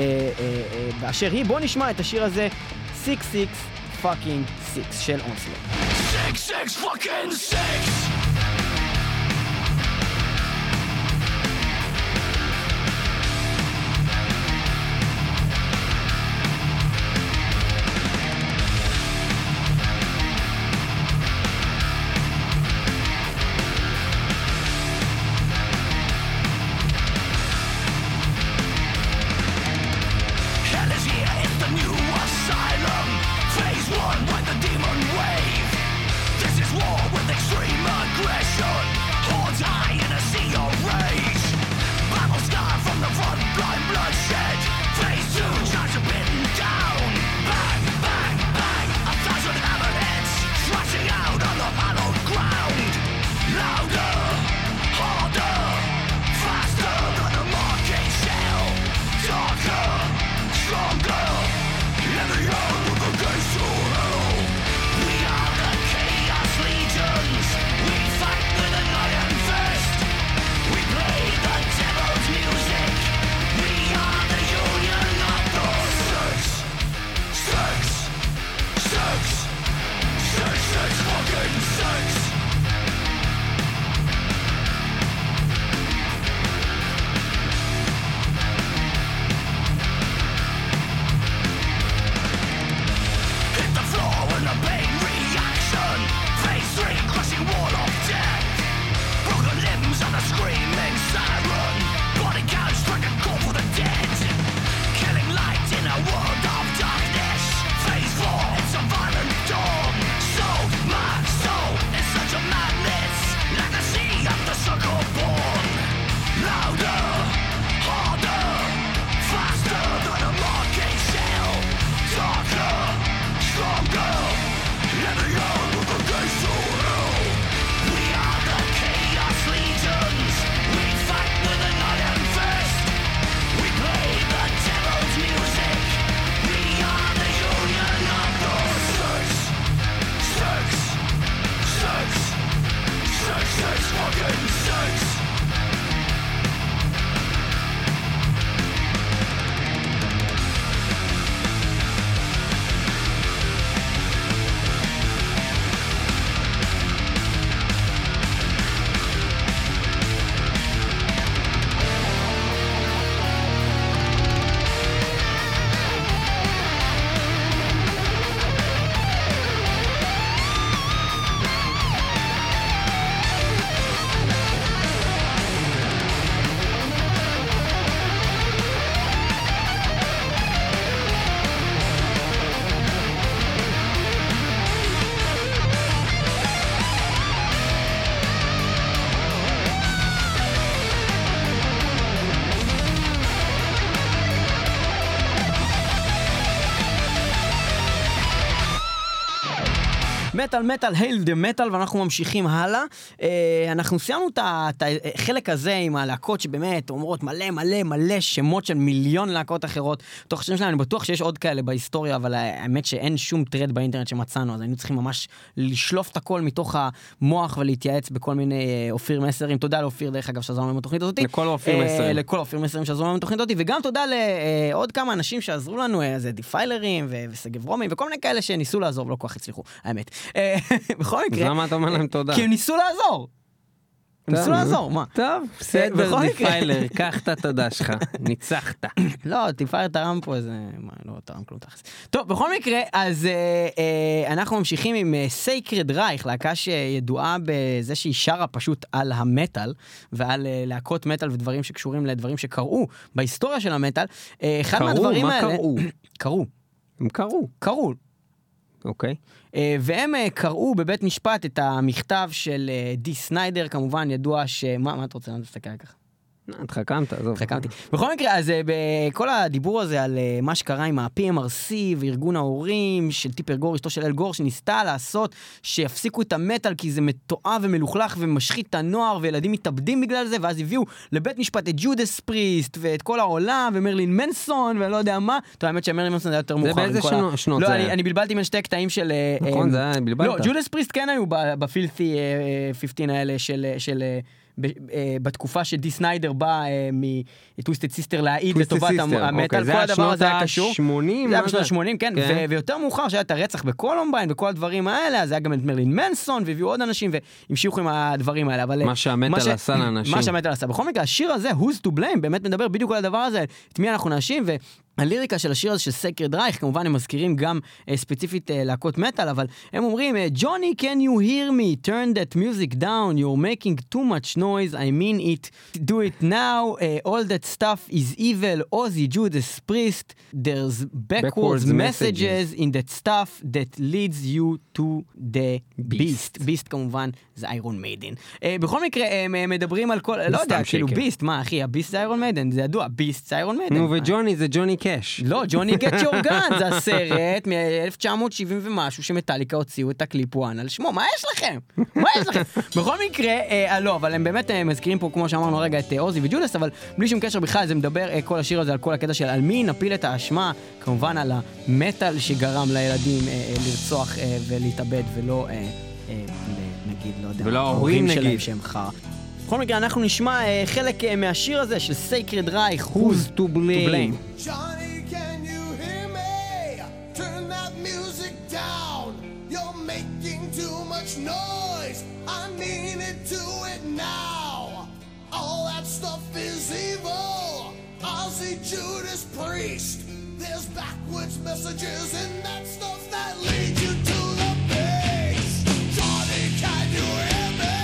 באשר היא. בוא נשמע את השיר הזה, six six fucking six של Onslaught. Six, six, fucking six! Phase one by the demon wave. This is war with extreme מטל מטל, הייל דה מטל, ואנחנו ממשיכים הלאה. אנחנו סיימנו את החלק הזה עם הלהקות שבאמת אומרות מלא מלא מלא שמות של מיליון להקות אחרות. תוך השם שלנו, אני בטוח שיש עוד כאלה בהיסטוריה, אבל האמת שאין שום טרד באינטרנט שמצאנו, אז היינו צריכים ממש לשלוף את הכל מתוך המוח ולהתייעץ בכל מיני אופיר מסרים. תודה לאופיר, דרך אגב, שעזרו לנו בתוכנית הזאת. לכל אופיר מסרים. לכל אופיר מסרים שעזרו לנו בתוכנית הזאת, וגם תודה לעוד כמה אנשים שעזרו לנו, זה דיפיילרים וסגב רומים וכל מיני כאלה שניסו לעזור, ולא כל כך הצליחו, האמת. בכל מקרה... אז למה אתה אומר להם תודה? כי הם ניסו לעזור. הם ניסו לעזור, מה? טוב, בסדר, דיפיילר, קח את התודה שלך, ניצחת. לא, דיפיילר תרם פה איזה... מה, לא תרם כלום תכלס. טוב, בכל מקרה, אז אנחנו ממשיכים עם סייקרד רייך, להקה שידועה בזה שהיא שרה פשוט על המטל, ועל להקות מטל ודברים שקשורים לדברים שקראו בהיסטוריה של המטל. קראו? מה קראו? קראו. הם קראו. קראו. אוקיי. והם קראו בבית משפט את המכתב של די סניידר, כמובן ידוע ש... מה, מה אתה רוצה? אני תסתכל ככה. התחכמת, עזוב. התחכמתי. בכל מקרה, אז בכל הדיבור הזה על מה שקרה עם ה-פי אם אר סי וארגון ההורים של טיפר גור, אשתו של אל גור, שניסתה לעשות שיפסיקו את המטל כי זה מתועב ומלוכלך ומשחית את הנוער וילדים מתאבדים בגלל זה, ואז הביאו לבית משפט את ג'ודס פריסט ואת כל העולם ומרלין מנסון ולא יודע מה. טוב, האמת שמרלין מנסון זה יותר מאוחר. זה באיזה שנות לא, זה אני, היה? אני בלבלתי בין שתי קטעים של... נכון, זה היה, בלבלת. לא, ג'ודס פריסט כן היו בפילתי חמש עשרה האלה של... של בתקופה שדי סניידר בא מטוויסטד סיסטר להעיד לטובת המטל, כל הדבר הזה היה קשור. שמונים, זה היה בשנות ה-שמונים, כן, ויותר מאוחר שהיה את הרצח בקולומביין וכל הדברים האלה, אז היה גם את מרלין מנסון, והביאו עוד אנשים והמשיכו עם הדברים האלה. מה שהמטל עשה לאנשים. מה שהמטל עשה. בכל מקרה, השיר הזה, Who's to Blame, באמת מדבר בדיוק על הדבר הזה, את מי אנחנו נאשים, ו... הליריקה של השיר הזה של סייקרד רייך, כמובן הם מזכירים גם uh, ספציפית uh, להקות מטל, אבל הם אומרים, Johnny, can you hear me? Turn that music down. You're making too much noise. I mean it. Do it now. Uh, all that stuff is evil. Ozzy, Judas Priest. There's backwards, backwards messages, messages in that stuff that leads you to the beast. beast כמובן זה איירון מיידן. Uh, בכל מקרה, הם uh, מדברים על כל... לא יודע, כאילו ביסט, מה אחי? הביסט זה איירון מיידן, זה ידוע, ביסט זה איירון מיידן. נו, וג'וני זה ג'וני קאש. לא, ג'וני גט יור גן, זה הסרט מ-אלף תשע מאות שבעים ומשהו שמטליקה הוציאו את הקליפ וואן על שמו, מה יש לכם? מה יש לכם? בכל מקרה, אה, לא, אבל הם באמת אה, מזכירים פה, כמו שאמרנו רגע, את אה, אוזי וג'ודס, אבל בלי שום קשר בכלל, זה מדבר אה, כל השיר הזה על כל הקטע של על מי נפיל את האשמה, כמובן על המטל שגרם לילדים אה, אה, לרצוח אה, ולהתאבד, ולא, אה, אה, נגיד, לא יודע, ולא ההורים שלהם שהם חר. בכל מקרה, אנחנו נשמע אה, חלק אה, מהשיר הזה של סייקרד רייך, Who's to blame. Johnny, can you hear me? Turn that music down. You're making too much noise. I mean it, do it now. All that stuff is evil. Ozzy, Judas Priest. There's backwards messages in that stuff that lead you to the beast. Johnny, can you hear me?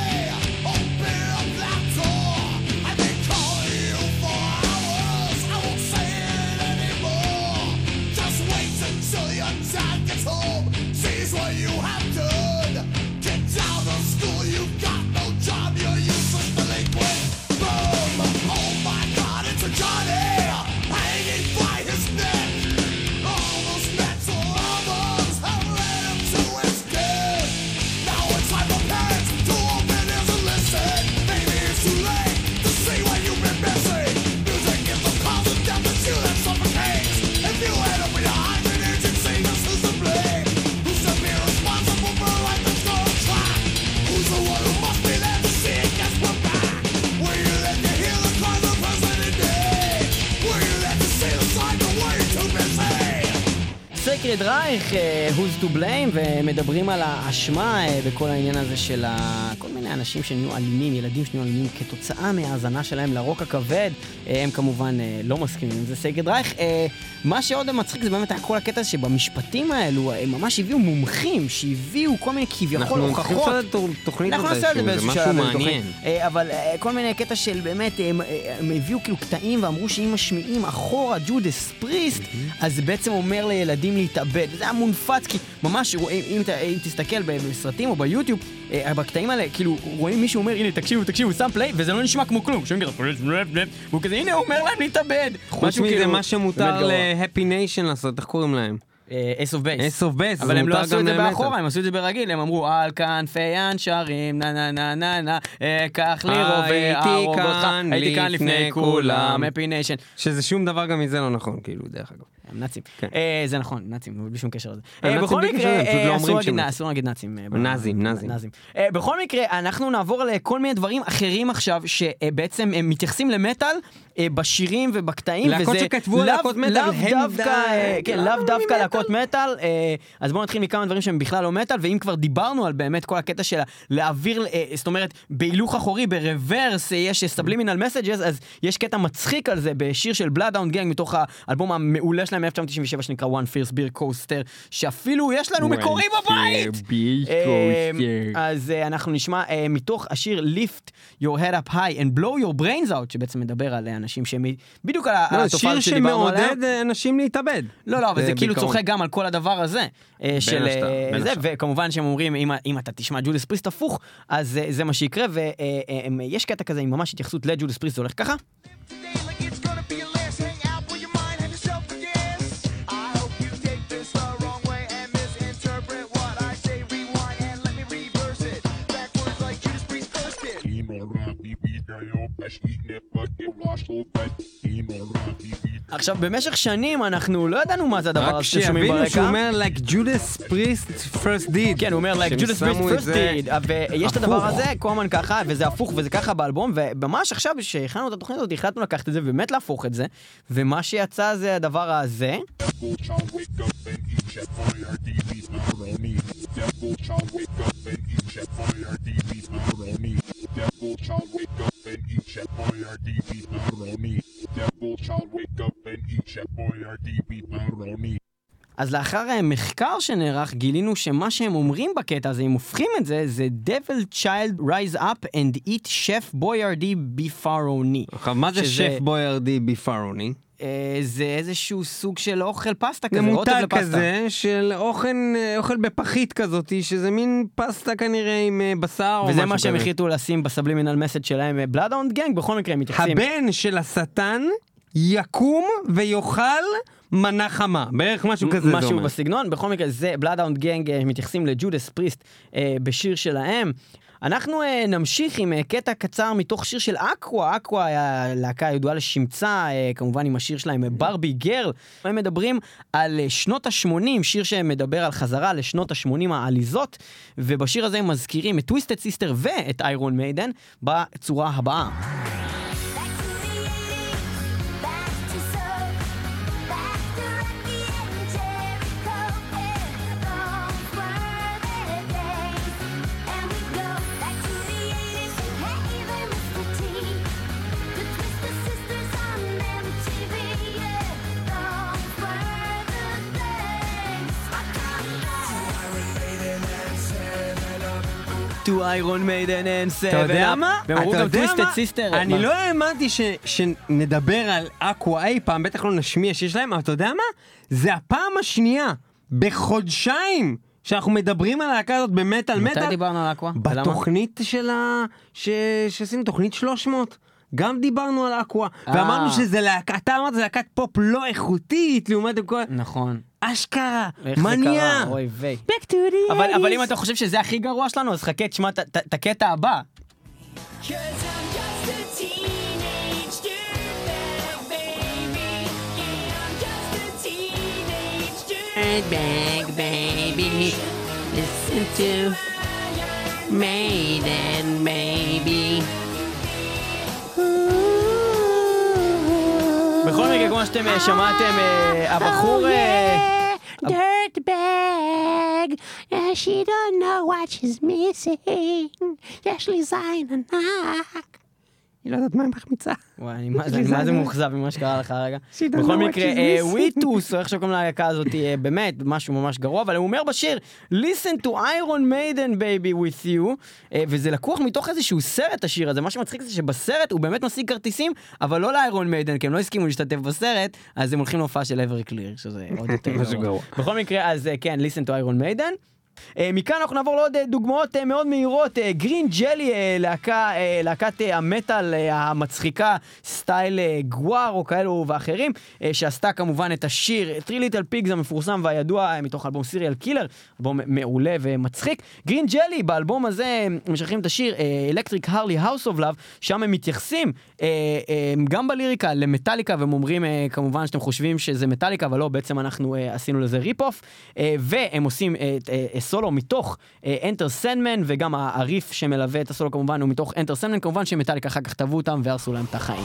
Open up that door. I've been calling you for hours. I won't say it anymore. Just wait until your dad gets home. Sees what you have done. Get out of school, you've got no job. You're useless delinquent. Boom! Oh my God, it's a Johnny hanging by his neck. All those mental albums have led him to his death. Now it's time for parents to open ears and listen. Maybe it's too late to see what you've been missing. Music is the cause of death that's you that suffocates. If you end up with your eyes and ears and sing us, who's to blame? Who's to be responsible for a life that's gone track? Who's the one who must be there to see it gets put back? Were you there to hear the cries of President Day? Were you there to see the sign of were you too busy? סייקרד רייך, Who's to blame, ומדברים על האשמה בכל העניין הזה של כל מיני אנשים שנהיו אלימים, ילדים שנהיו אלימים כתוצאה מההאזנה שלהם לרוק הכבד. הם כמובן לא מסכימים עם זה. סייקרד רייך, מה שעוד מצחיק זה באמת כל הקטע שבמשפטים האלו הם ממש הביאו מומחים שהביאו כל מיני כביכול הוכחות. אנחנו צריכים לעשות תוכנית הזה, זה משהו מעניין. אבל כל מיני קטע של באמת הם הביאו כאילו קטעים ואמרו שאם משמיעים אחורה ג'ודס פריסט, אז זה בעצם אומר לילדים להתאבד. זה היה מונפץ, כי ממש רואים, אם, אם תסתכל בסרטים או ביוטיוב, בקטעים האלה, כאילו רואים מישהו אומר, הנה תקשיבו, תקשיבו, שם פליי, וזה לא נשמע כמו כלום. והוא כזה, הנה הוא אומר להם להתאבד. חוץ מזה, מה שמותר ל-Happy Nation לעשות, איך קוראים להם? אייס אוף בייס. אייס אוף בייס. אבל הם לא עשו את זה באחורה, הם עשו את זה ברגיל, הם אמרו, על כנפי הנשרים, נה נה נה נה נה, קח לי רובה, הייתי כאן הייתי כאן לפני כולם, הפי ניישן. שזה שום דבר גם מזה לא נכון, כאילו, דרך אגב. הם נאצים. זה נכון, נאצים, בלי שום קשר לזה. נאצים בכל בלי מקרה, קשר, פשוט לא אומרים שהם אסור להגיד נאצים. נאזים, נאזים. בכל מקרה, אנחנו נעבור לכל מיני דברים אחרים עכשיו, שבעצם הם מתייחסים למטל, בשירים ובקטעים, להקות שכתבו להקות מטל, הם די... לאו דווקא להקות מטל, אז בואו נתחיל מכמה דברים שהם בכלל לא מטל, ואם כבר דיברנו על באמת כל הקטע של להעביר, זאת אומרת, בהילוך אחורי, ברוורס, יש subliminal messages, אז יש קטע מצחיק על זה, בשיר של Bloodhound Gang, מתוך האלבום המעולה שלהם מ-אלף תשע מאות תשעים ושבע, שנקרא One Fierce Beer Coaster, שאפילו יש לנו מקורי בבית! אז אנחנו נשמע מתוך השיר Lift Your Head Up High and Blow Your Brains Out, שבעצם מדבר על אנשים שהם בדיוק על התופעה שדיברנו עליה. שיר שמעודד אנשים להתאבד. לא, לא, אבל זה כאילו צוחק גם על כל הדבר הזה. של זה, וכמובן שהם אומרים, אם אתה תשמע ג'ודס פריסט הפוך, אז זה מה שיקרה, ויש קטע כזה עם ממש התייחסות לג'ודס פריסט, זה הולך ככה. עכשיו, במשך שנים אנחנו לא ידענו מה זה הדבר הזה ששומעים ברקע. רק שיבינו שהוא אומר like Judas Priest first did. כן, הוא אומר like Judas Priest first did. ויש את הדבר הזה, קומן ככה, וזה הפוך, וזה ככה באלבום, וממש עכשיו שהכנו את התוכנית הזאת, החלטנו לקחת את זה ובאמת להפוך את זה, ומה שיצא זה הדבר הזה. אז לאחר מחקר שנערך גילינו שמה שהם אומרים בקטע הזה, אם הופכים את זה, זה Devil Child Rise Up and Eat Chef Boyardee Beefaroni. עכשיו, מה זה Chef Boyardee Beefaroni? זה איזשהו סוג של אוכל פסטה כזה, זה מותג כזה של אוכל, אוכל בפחית כזאת, שזה מין פסטה כנראה עם בשר או משהו כזה. וזה מה שהם החליטו לשים בסבלימינל מסד שלהם, Bloodhound Gang, בכל מקרה הם מתייחסים. הבן של השטן יקום ויאכל מנה חמה, בערך משהו כזה זה אומר. משהו בסגנון, בכל מקרה זה Bloodhound Gang מתייחסים לג'ודס פריסט בשיר שלהם. אנחנו uh, נמשיך עם uh, קטע קצר מתוך שיר של אקווה. אקווה היה להקה ידועה לשמצה, uh, כמובן עם השיר שלהם ברבי גרל. הם מדברים על uh, שנות ה-שמונים, שיר שמדבר על חזרה לשנות ה-שמונים העליזות, ובשיר הזה הם מזכירים את טוויסטד סיסטר ואת איירון מיידן בצורה הבאה. To Iron Maiden and Seven. אתה יודע מה? והם אמרו גם Twisted Sister. אני לא האמנתי שנדבר על אקווה אי פעם, בטח לא נשמיע שיש להם, אבל אתה יודע מה? זה הפעם השנייה בחודשיים שאנחנו מדברים על הלהקה הזאת במטל מטל. מתי דיברנו על אקווה? בתוכנית של ה... שעשינו תוכנית שלוש מאות. גם דיברנו על אקווה, ואמרנו שזה להקה, אתה אמרת, זה להקת פופ לא איכותית, לעומת כל... נכון. אשכרה, מניה. אוי ויי. אבל אם אתה חושב שזה הכי גרוע שלנו, אז חכה, תשמע את הקטע הבא. Bag baby, listen to Maiden baby. בכל מקרה, כמו שאתם שמעתם, הבחור... Dirt bag, yeah, she don't know what she's missing. יש לי זין ענק. היא לא יודעת מה היא מחמיצה. וואי, מה זה מוחזב ממה שקרה לך הרגע. בכל מקרה, וויטוס, או איך שקוראים להקה הזאת, באמת משהו ממש גרוע, אבל הוא אומר בשיר, Listen to Iron Maiden baby with you, וזה לקוח מתוך איזשהו סרט השיר הזה, מה שמצחיק זה שבסרט הוא באמת משיג כרטיסים, אבל לא לאיירון מיידן, כי הם לא הסכימו להשתתף בסרט, אז הם הולכים להופעה של Everclear, שזה עוד יותר גרוע. בכל מקרה, אז כן, Listen to Iron Maiden, מכאן אנחנו נעבור לעוד דוגמאות מאוד מהירות. גרין ג'לי, להקה, להקת המטל המצחיקה סטייל גואר או כאלו ואחרים, שעשתה כמובן את השיר Three Little Pigs המפורסם והידוע מתוך אלבום סיריאל קילר, אלבום מעולה ומצחיק. גרין ג'לי באלבום הזה משחררים את השיר Electric Harley House of Love, שם הם מתייחסים גם בליריקה למטליקה, והם אומרים כמובן שאתם חושבים שזה מטליקה, אבל לא, בעצם אנחנו עשינו לזה ריפ-אוף, והם עושים סולו מתוך Enter Sandman, וגם הריף שמלווה את הסולו כמובן הוא מתוך Enter Sandman, כמובן שמטליקה אחר כך כתבו אותם והרסו להם את החיים.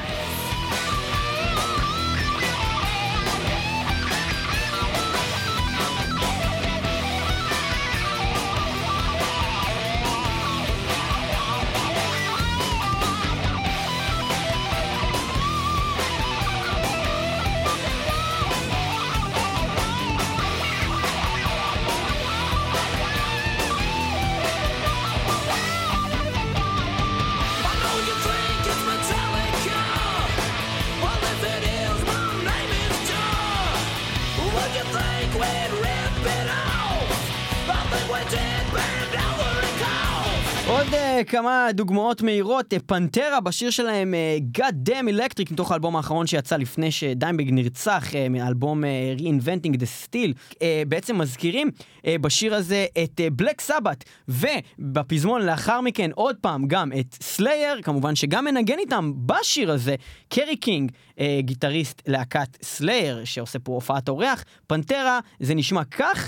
כמה דוגמאות מהירות. פנטרה בשיר שלהם God Damn Electric מתוך האלבום האחרון שיצא לפני שדיימבג נרצח, מאלבום Reinventing the Steel, בעצם מזכירים בשיר הזה את בלק סבת, ובפזמון לאחר מכן עוד פעם גם את סלייר, כמובן שגם מנגן איתם בשיר הזה קרי קינג, גיטריסט להקת סלייר שעושה פה הופעת אורח. פנטרה זה נשמע כך.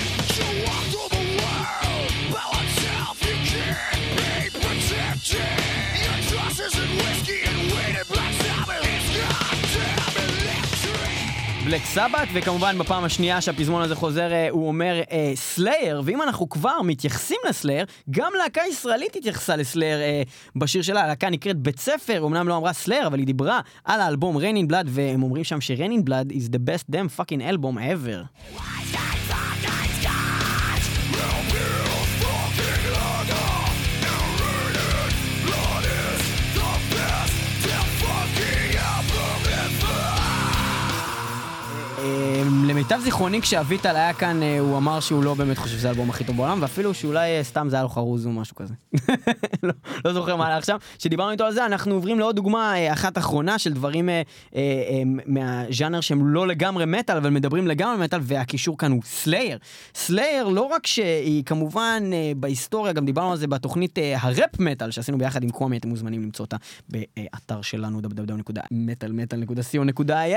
בלק סבת, וכמובן בפעם השנייה שהפזמון הזה חוזר הוא אומר סלייר, ואם אנחנו כבר מתייחסים לסלייר, גם להקה ישראלית התייחסה לסלייר בשיר שלה. הלהקה נקראת בית ספר, אמנם לא אמרה סלייר, אבל היא דיברה על האלבום Raining Blood, והם אומרים שם ש-Raining Blood is the best damn fucking album ever. למיטב זיכרוני כשאביטל היה כאן הוא אמר שהוא לא באמת חושב שזה האלבום הכי טוב בעולם, ואפילו שאולי סתם זה היה לו חרוז או משהו כזה. לא, לא זוכר מה היה עכשיו. שדיברנו איתו על זה, אנחנו עוברים לעוד דוגמה אחת אחרונה של דברים מהז'אנר שהם לא לגמרי מטל, אבל מדברים לגמרי מטל, והקישור כאן הוא סלייר. סלייר לא רק שהיא כמובן בהיסטוריה, גם דיברנו על זה בתוכנית הראפ מטל שעשינו ביחד עם קומי, אתם מוזמנים למצוא אותה באתר שלנו דאבליו דאבליו דאבליו נקודה מטל מטל נקודה סי או נקודה איי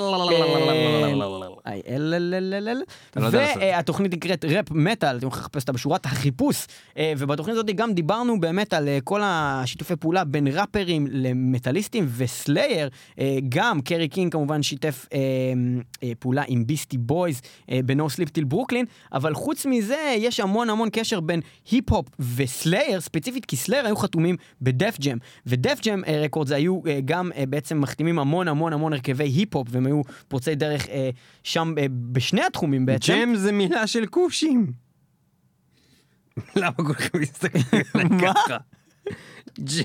אל והתוכנית נקראת ראפ מטל, אתם יכולים לחפש אותה בשורת החיפוש, ובתוכנית הזאת גם דיברנו באמת על כל השיתופי פעולה בין ראפרים למטליסטים, וסלייר, גם קרי קינג כמובן שיתף פעולה עם ביסטי בויז בנו סליפ טיל ברוקלין, אבל חוץ מזה יש המון המון קשר בין היפ-הופ וסלייר, ספציפית כי סלייר היו חתומים בדף ג'ם, ודף ג'ם רקורדס היו גם בעצם מחתימים המון המון המון הרכבי היפ-הופ, והם היו פורצי דרך שם בשני התחומים בעצם. ג'ם זה מילה של קושים. למה כל כך מסתכל ככה? ג'ם.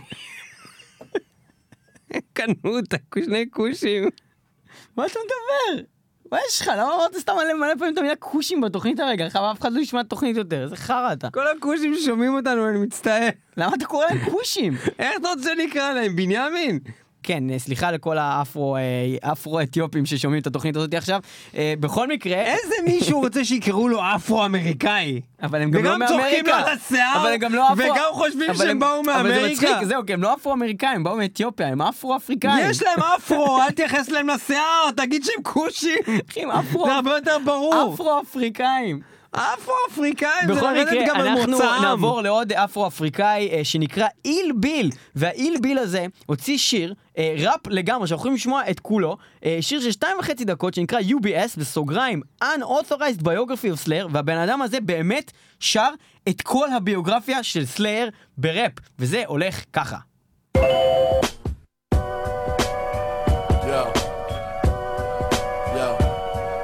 קנו אותה, שני קושים. מה אתה מדבר? מה יש לך? למה אמרת סתם מלא מלא פעמים את המילה קושים בתוכנית הרגע? חבל, אף אחד לא ישמע את התוכנית יותר. איזה חרא אתה. כל הקושים ששומעים אותנו, אני מצטער. למה אתה קורא להם קושים? איך אתה רוצה לקרוא להם? בנימין? כן, סליחה לכל האפרו-אתיופים ששומעים את התוכנית הזאת עכשיו. בכל מקרה... איזה מישהו רוצה שיקראו לו אפרו-אמריקאי? אבל הם גם לא מאמריקה. וגם צוחקים לו על השיער, אבל הם גם לא אפרו... וגם חושבים שהם באו מאמריקה. אבל זה מצחיק, זהו, כי הם לא אפרו-אמריקאים, הם באו מאתיופיה, הם אפרו-אפריקאים. יש להם אפרו, אל תייחס להם לשיער, תגיד שהם קושים. זה הרבה יותר ברור. אפרו-אפריקאים. אפרו-אפריקאים, בכל מקרה, אנחנו נעבור לעוד אפרו-אפריקאי שנקרא איל ביל, והאיל ביל הזה הוציא שיר, ראפ לגמרי, שאנחנו יכולים לשמוע את כולו, שיר של שתיים וחצי דקות שנקרא יו בי אס, בסוגריים, Unauthorized Biography of Slayer, והבן אדם הזה באמת שר את כל הביוגרפיה של סלייר בראפ, וזה הולך ככה.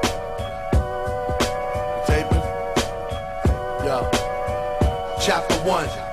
Chapter one,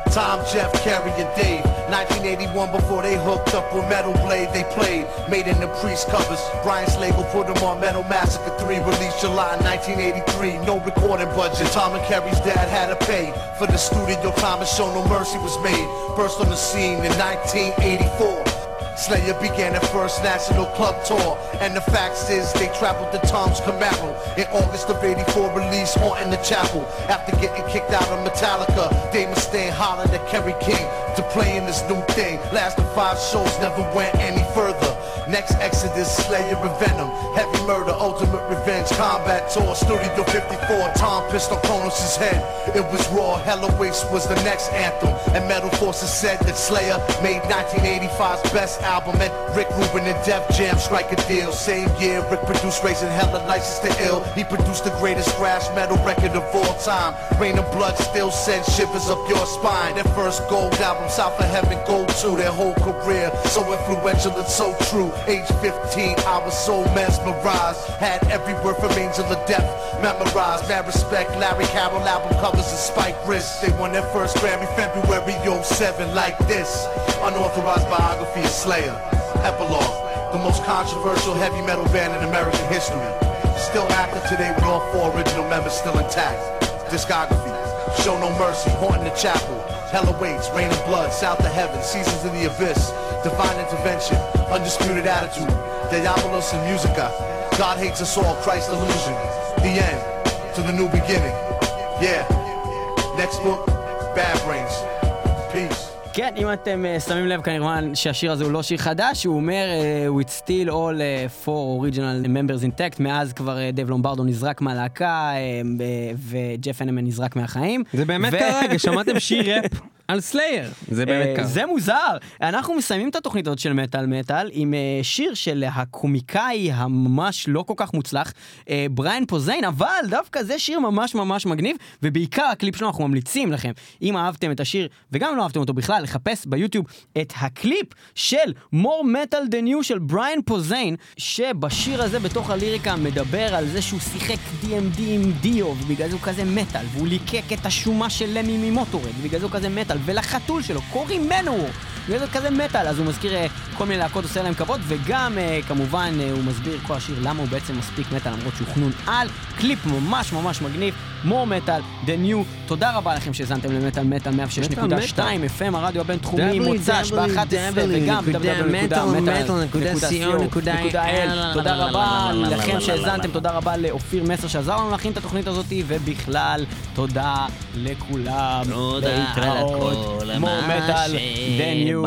Tom, Jeff, Kerry, and Dave. nineteen eighty-one, before they hooked up with Metal Blade, they played. Made in the Priest covers. Brian's label put them on Metal Massacre three, released July nineteen eighty-three. No recording budget. Tom and Kerry's dad had to pay for the studio time, and Show No Mercy was made. Burst on the scene in nineteen eighty-four. Slayer began their first national club tour, and the facts is they traveled to Tom's Camaro. In August of eighty-four, released Haunting the Chapel. After getting kicked out of Metallica, Dave Mustaine hollered at Kerry King to play in this new thing. Lasted five shows, never went any further. Next Exodus, Slayer and Venom, Heavy Murder, Ultimate Revenge, Combat Tour, Studio fifty-four, Tom pissed on Kronos' head. It was raw, Hella Waste was the next anthem, and Metal Forces said that Slayer made nineteen eighty-five's best album, and Rick Rubin and Def Jam strike a deal. Same year, Rick produced Raising Hella License to Ill. He produced the greatest thrash metal record of all time. Rain of Blood still sends shivers up your spine. Their first gold album, South of Heaven, Gold two. Their whole career, so influential and so true. Age fifteen, I was so mesmerized. Had every word from Angel of Death memorized. Mad respect, Larry Carroll album covers and Spike Wrist. They won their first Grammy February oh seven like this. Unauthorized biography of Slayer. Epilogue, the most controversial heavy metal band in American history. Still active today with all four original members still intact. Discography, Show No Mercy, Haunting the Chapel, Hella Waits, Rain of Blood, South of Heaven, Seasons of the Abyss, Divine Intervention, Undisputed Attitude, Diabolos and Musica, God Hates Us All, Christ Illusion, The End, To the New Beginning. Yeah. Next book, Bad Brains. Peace. כן, אם אתם uh, שמים לב כמובן שהשיר הזה הוא לא שיר חדש, הוא אומר uh, with still all uh, four original members intact, מאז כבר uh, דייב לומברדו נזרק מהלהקה uh, וג'ף הנמן נזרק מהחיים. זה באמת כרגע, שמעתם שיר ראפ על סלייר, זה באמת ככה. זה מוזר. אנחנו מסיימים את התוכנית הזאת של מטל מטל עם uh, שיר של הקומיקאי הממש לא כל כך מוצלח, uh, בריין פוזיין, אבל דווקא זה שיר ממש ממש מגניב, ובעיקר הקליפ שלנו אנחנו ממליצים לכם, אם אהבתם את השיר וגם אם לא אהבתם אותו בכלל, לחפש ביוטיוב את הקליפ של More Metal Than You של בריין פוזיין, שבשיר הזה בתוך הליריקה מדבר על זה שהוא שיחק די אם די עם דיו, ובגלל זה הוא כזה מטל, והוא ליקק את השומה של למי ממוטורד, ובגלל זה הוא כזה מטל, ולחתול שלו קוראים מנוור, בגלל זה הוא כזה מטל, אז הוא מזכיר כל מיני להקות, עושה להם כבוד, וגם כמובן הוא מסביר כל השיר למה הוא בעצם מספיק מטל, למרות שהוא חנון על. קליפ ממש ממש מגניב, More Metal Than You. תודה רבה לכם שהזנתם למטל מטל מאה ושש נקודה שתיים אף אם הרדיו הבינתחומי, מוצ"ש ב-אחת עשרה וגם דאבליו דאבליו דאבליו נקודה מטל נקודה סי או נקודה איי אל. תודה רבה לכם שהזנתם, תודה רבה לאופיר מסר שעזר לנו להכין את התוכנית הזאת, ובכלל תודה לכולם. תודה על הכל, More Metal Than You.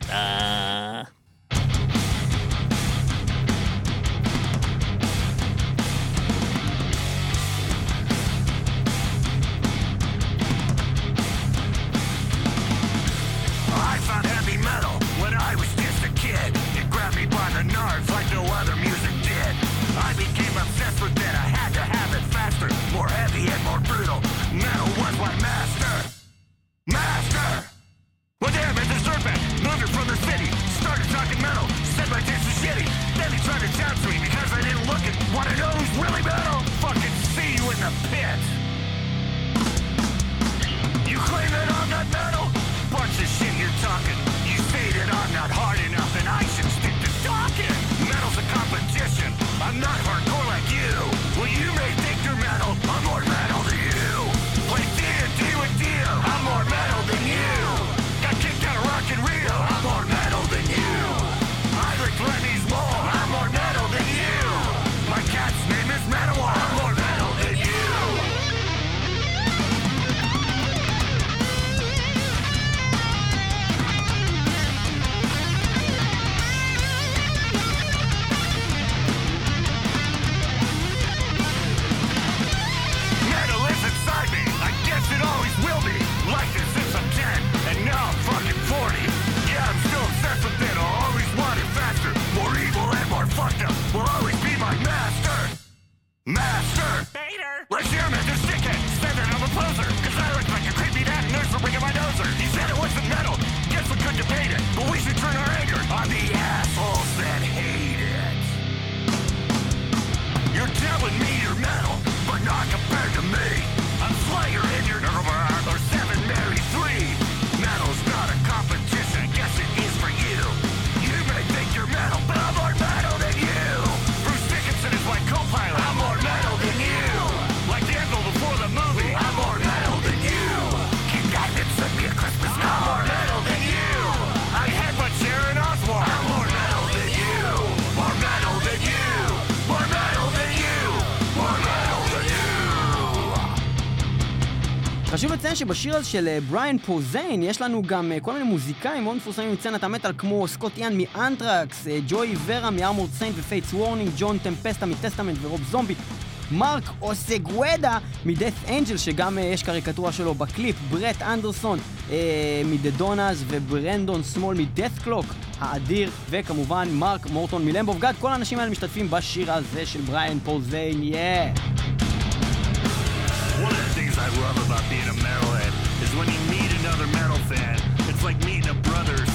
ברטה. Not compared to me. I'm Slayer in your number or seven Mary three. חשוב לציין שבשיר הזה של בריאן פוזיין יש לנו גם כל מיני מוזיקאים מאוד מפורסמים מצנת המטל כמו סקוט יאן מאנטרקס, ג'וי ורה מארמורד סיינט ופייטס וורנינג, ג'ון טמפסטה מטסטמנט ורוב זומבי, מרק אוסגוודה מדאט אנג'ל שגם uh, יש קריקטורה שלו בקליפ, ברט אנדרסון uh, מדדונאז וברנדון סמול מדאט קלוק האדיר, וכמובן מרק מורטון מלמב אוף גאד. כל האנשים האלה משתתפים בשיר הזה של בריאן פוזיין. יא One of the things I love about being a metalhead is when you meet another metal fan, it's like meeting a brother or